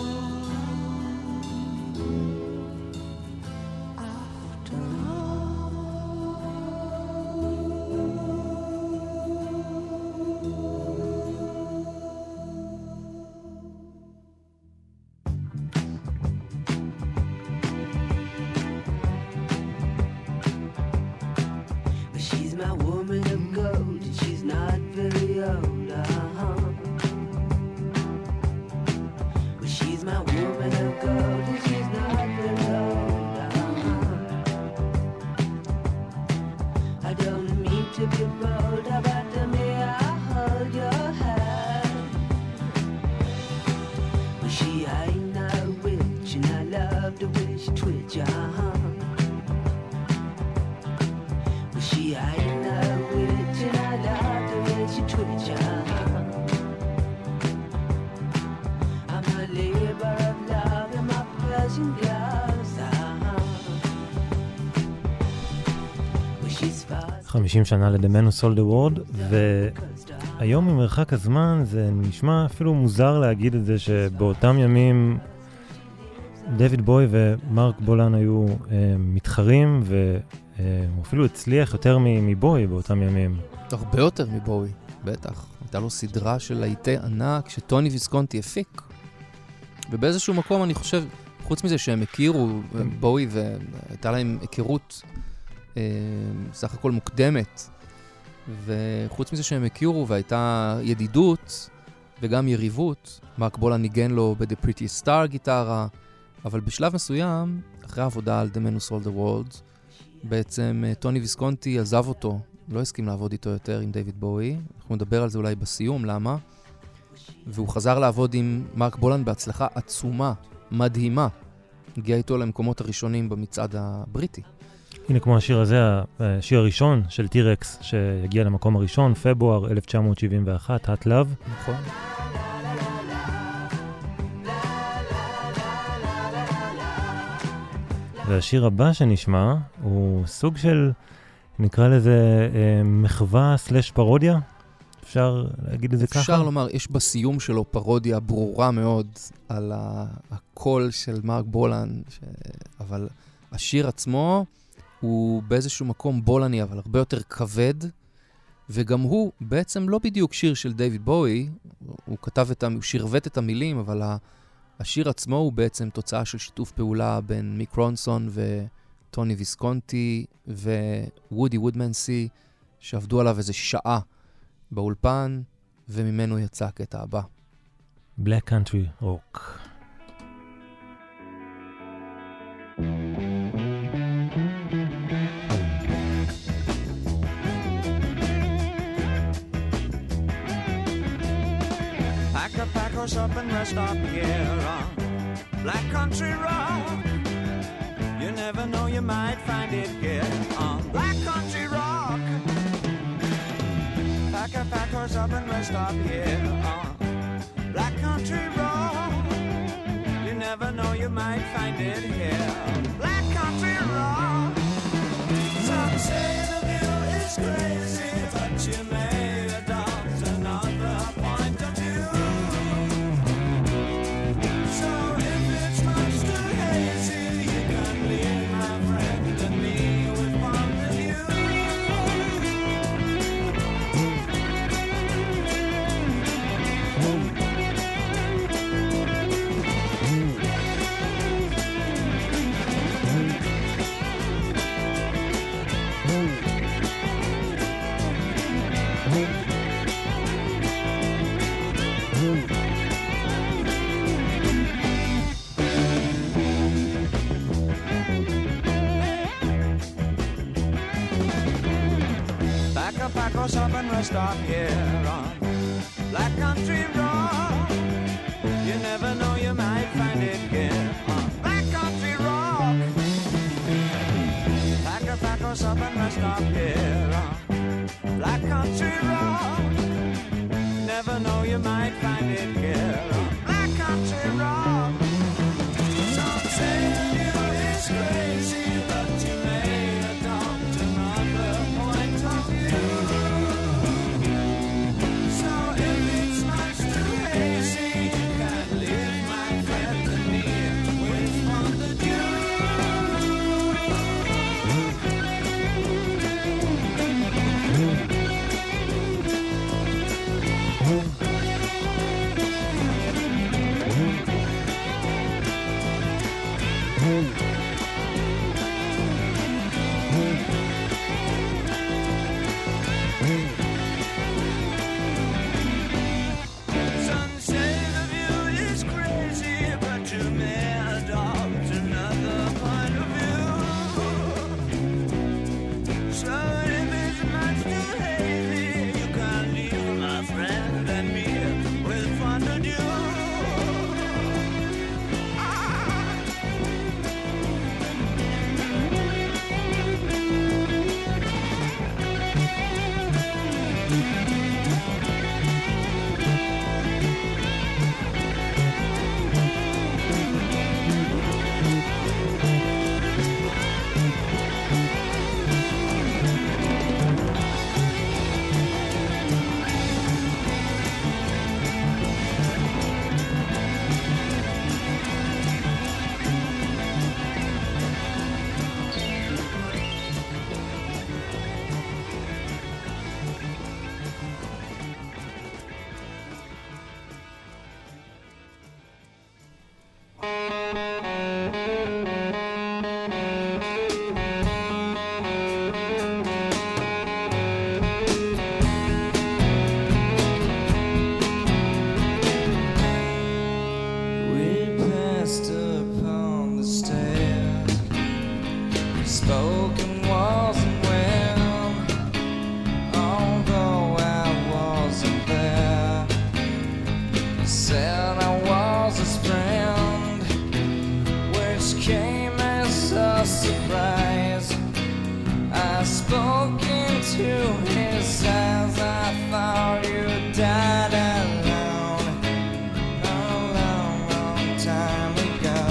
Speaker 5: after
Speaker 11: But she's my woman of gold, and she's not very old, uh-huh. But she's my woman of gold, and she's not very old, uh-huh. I don't mean to be bold, but to me I hold your hand. But she ain't no witch, and I love the way she twitch, uh-huh. But she ain't no witch, and I love the way she twitch, uh-huh. I'm a labor of love in my Persian gloves, uh-huh. But she's fast.
Speaker 3: חמישים שנה ל-The Man Who Sold the World, והיום ממרחק הזמן זה נשמע אפילו מוזר להגיד את זה שבאותם ימים דויד בוי ומרק בולן היו אה, מתחרים, והוא אפילו הצליח יותר מבוי באותם ימים.
Speaker 4: הרבה יותר מבוי, בטח. הייתה לו סדרה של להיטי ענק שטוני ויסקונטי הפיק. ובאיזשהו מקום אני חושב, חוץ מזה שהם הכירו, בוי, והייתה להם היכרות אה, סך הכל מוקדמת, וחוץ מזה שהם הכירו והייתה ידידות וגם יריבות, מרק בולן ניגן לו ב-The Prettiest Star גיטרה, אבל בשלב מסוים, אחרי העבודה על The Man Who Sold the World, בעצם טוני ויסקונטי עזב אותו, לא הסכים לעבוד איתו יותר עם דיוויד בואי. אנחנו נדבר על זה אולי בסיום, למה? והוא חזר לעבוד עם מרק בולן בהצלחה עצומה, מדהימה. הגיע איתו למקומות הראשונים במצעד הבריטי.
Speaker 3: הנה כמו השיר הזה, השיר הראשון של טירקס, שהגיע למקום הראשון, פברואר אלף תשע מאות שבעים ואחת, Hot Love.
Speaker 4: נכון.
Speaker 3: והשיר הבא שנשמע הוא סוג של, נקרא לזה, אה, מחווה סלש פרודיה. אפשר להגיד את זה ככה?
Speaker 4: אפשר לומר, יש בסיום שלו פרודיה ברורה מאוד על הקול של מרק בולן, ש... אבל השיר עצמו הוא באיזשהו מקום בולני, אבל הרבה יותר כבד, וגם הוא בעצם לא בדיוק שיר של דיוויד בואי, הוא כתב את, הוא שרבט את המילים, אבל השיר עצמו הוא בעצם תוצאה של שיתוף פעולה בין מיק רונסון וטוני ויסקונטי ווודי וודמנסי, שעבדו עליו איזה שעה באולפן, וממנו יצא הקטע הבא.
Speaker 3: Black Country Rock.
Speaker 2: Pack a pack us up and rest up here on Black Country Rock. You never know, you might find it here on Black Country Rock. Pack a pack us up and rest up here on Black Country Rock. You never know, you might find it here on Black Country Rock. Some say the view is crazy, but you may adopt another point of view. So if it's much too hazy, you can leave my friend and me with one of you. Pack us up and rest up here on Black Country Rock. You never know, you might find it here on Black Country Rock. Pack a pack us up and rest up here on Black Country Rock. Never know, you might find it here on Black Country Rock. Some say the view is crazy, but you may adopt another point of view.
Speaker 12: spoke into his eyes. I thought you died alone a long, long time ago.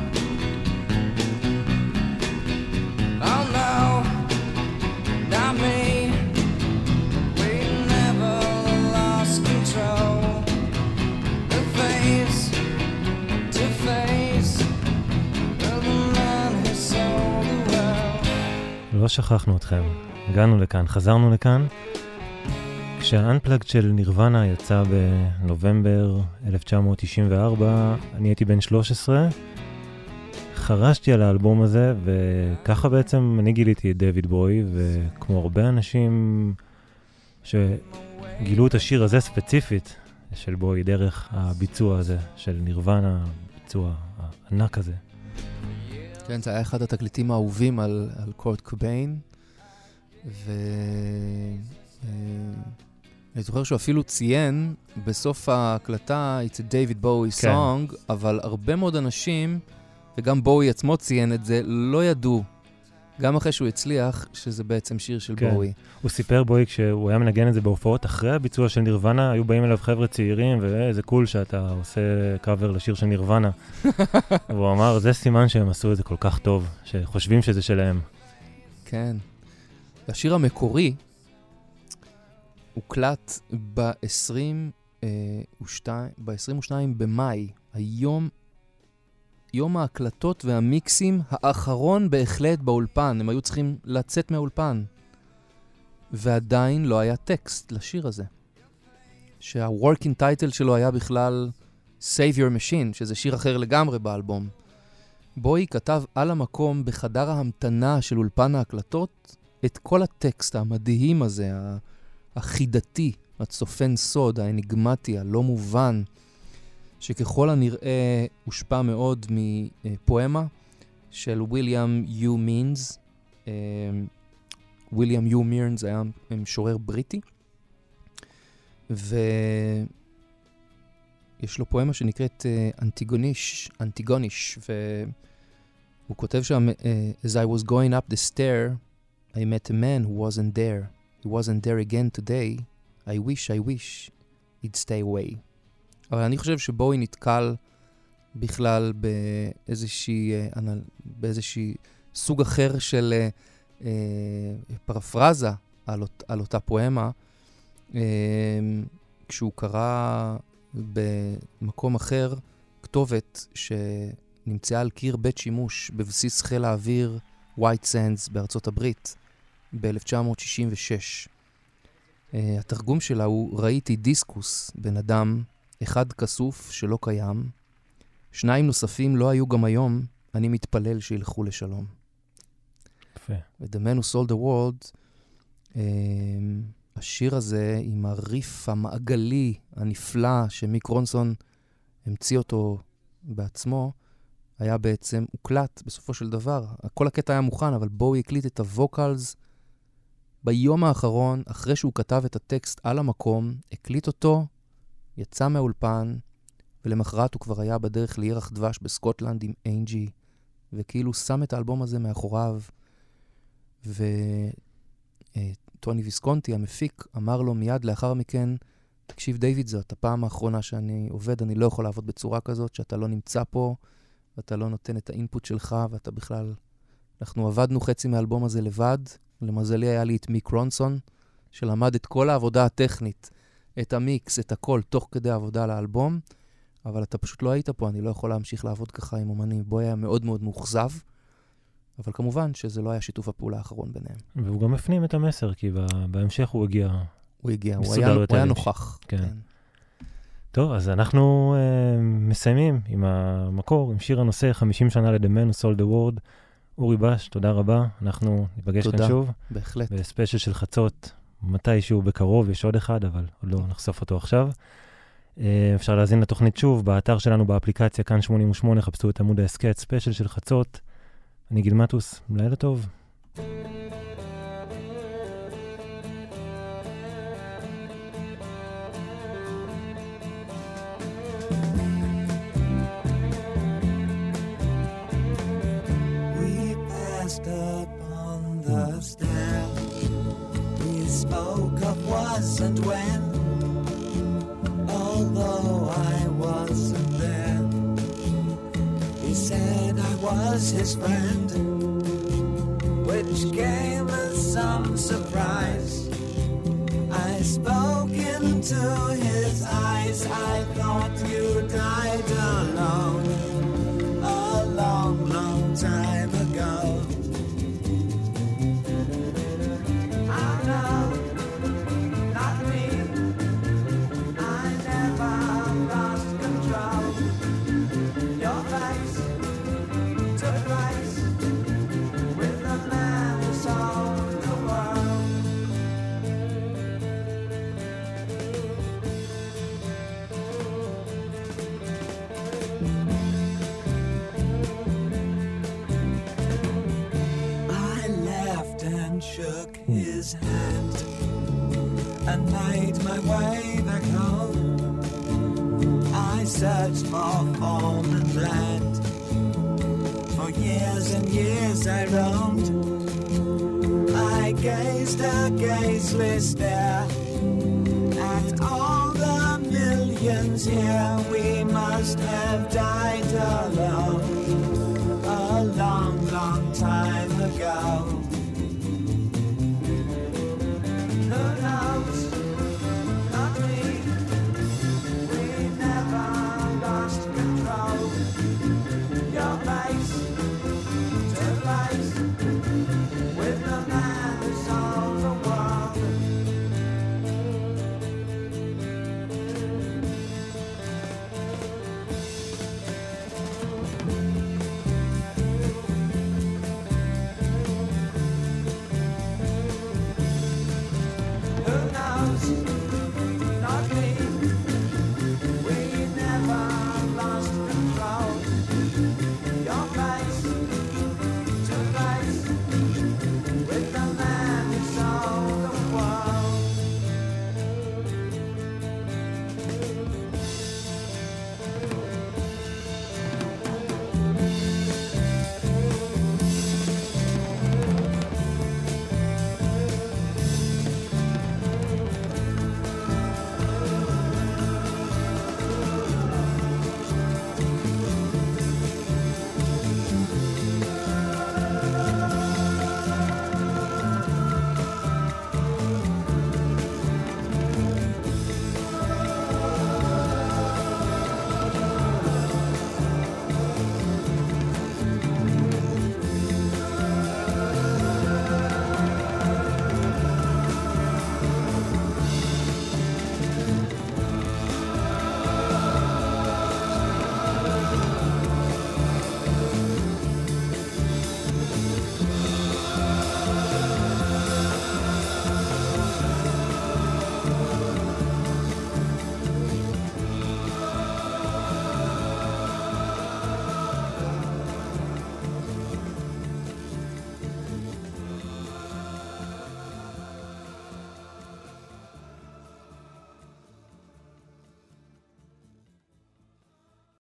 Speaker 12: Oh no, not me. We never lost control. The face to face of the man who sold the world.
Speaker 3: לא שכחנו אתכם, הגענו לכאן, חזרנו לכאן. כשהאנפלאגד של נירוונה יצא בנובמבר אלף תשע מאות תשעים וארבע, אני הייתי בן שלוש עשרה, חרשתי על האלבום הזה, וככה בעצם אני גיליתי את דיוויד בוי, וכמו הרבה אנשים שגילו את השיר הזה ספציפית של בוי דרך הביצוע הזה של נירוונה, הביצוע הענק הזה.
Speaker 4: כן, זה היה אחד התקליטים האהובים על, על קורט קוביין, ו... אני זוכר שהוא אפילו ציין בסוף ההקלטה, it's a David Bowie song, כן. אבל הרבה מאוד אנשים, וגם בואי עצמו ציין את זה, לא ידעו, גם אחרי שהוא הצליח, שזה בעצם שיר של כן. בואי.
Speaker 3: הוא סיפר בואי, כשהוא היה מנגן את זה בהופעות, אחרי הביצוע של נירוונה, היו באים אליו חבר'ה צעירים, ואיזה קול שאתה עושה קאבר לשיר של נירוונה. והוא אמר, זה סימן שהם עשו את זה כל כך טוב, שחושבים שזה שלהם.
Speaker 4: כן. השיר המקורי, הוקלט ב-עשרים ושניים במאי, היום, יום ההקלטות והמיקסים האחרון בהחלט באולפן. הם היו צריכים לצאת מהאולפן. ועדיין לא היה טקסט לשיר הזה. שה-working title שלו היה בכלל Save Your Machine, שזה שיר אחר לגמרי באלבום. בואי כתב על המקום בחדר ההמתנה של אולפן ההקלטות את כל הטקסט המדהים הזה, החידתי, הצופן סוד, האניגמטי, הלא מובן, שככל הנראה הושפע מאוד מפואמה של ויליאם יו מינס. ויליאם יו מינס היה משורר בריטי, ויש לו פואמה שנקראת אנטיגוניש, אנטיגוניש, והוא כותב שם, As I was going up the stair, I met a man who wasn't there. He wasn't there again today. I wish, I wish he'd stay away. אבל אני חושב שבואי נתקל בכלל באיזושהי, באיזושהי סוג אחר של אה, אה, פרפרזה על, אות, על אותה פואמה, אה, כשהוא קרא במקום אחר כתובת שנמצאה על קיר בית שימוש בבסיס חיל האוויר ווייט סנדס בארצות הברית ב-אלף תשע מאות שישים ושש. Uh, התרגום שלה הוא, ראיתי דיסקוס, בן אדם, אחד כסוף שלא קיים, שניים נוספים לא היו גם היום, אני מתפלל שילכו לשלום.
Speaker 3: יפה.
Speaker 4: ו-The Man Who Sold the World, uh, השיר הזה עם הריף המעגלי הנפלא שמיק רונסון המציא אותו בעצמו, היה בעצם הוקלט בסופו של דבר. כל הקטע היה מוכן, אבל בואו יקליט את הווקלס ביום האחרון, אחרי שהוא כתב את הטקסט על המקום, הקליט אותו, יצא מהאולפן, ולמחרת הוא כבר היה בדרך לירח דבש בסקוטלנד עם אנג'י, וכאילו שם את האלבום הזה מאחוריו, וטוני ויסקונטי, המפיק, אמר לו מיד לאחר מכן, תקשיב דיוויד, זאת הפעם האחרונה שאני עובד, אני לא יכול לעבוד בצורה כזאת, שאתה לא נמצא פה, ואתה לא נותן את האינפוט שלך, ואתה בכלל... אנחנו עבדנו חצי מהאלבום הזה לבד, למזלי היה לי את מיק רונסון, שלמד את כל העבודה הטכנית, את המיקס, את הכל, תוך כדי העבודה לאלבום, אבל אתה פשוט לא היית פה, אני לא יכול להמשיך לעבוד ככה עם אומנים. בו היה מאוד מאוד מוחזב, אבל כמובן שזה לא היה שיתוף הפעולה האחרון ביניהם.
Speaker 3: והוא גם הפנים את המסר, כי בהמשך הוא הגיע...
Speaker 4: הוא הגיע, הוא היה, הוא היה נוכח.
Speaker 3: כן. כן. טוב, אז אנחנו uh, מסיימים עם המקור, עם שיר הנושא חמישים שנה ל-The Man Who Sold the World. אורי בש, תודה רבה. אנחנו ניפגש כאן שוב.
Speaker 4: תודה, בהחלט.
Speaker 3: בספיישל של חצות, מתישהו בקרוב, יש עוד אחד, אבל עוד לא נחשוף אותו עכשיו. אפשר להזין לתוכנית שוב, באתר שלנו, באפליקציה, כאן שמונים ושמונה, חפשו את עמוד ההסקט, ספיישל של חצות. אני גיל מטוס, לילה טוב.
Speaker 9: We passed up on the stair.
Speaker 2: spoke of was and when, although I wasn't there. He said I was his friend, which came as some surprise. I spoke into his eyes. I thought you died alone a long, long time ago. Oh no, not me. I never lost control. Your face took place with the man who sold the world. I laughed and shook his hand and made my way back home. I searched for form and land. For years and years I roamed. I gazed a gazeless stare at all the millions here. We must have died alone.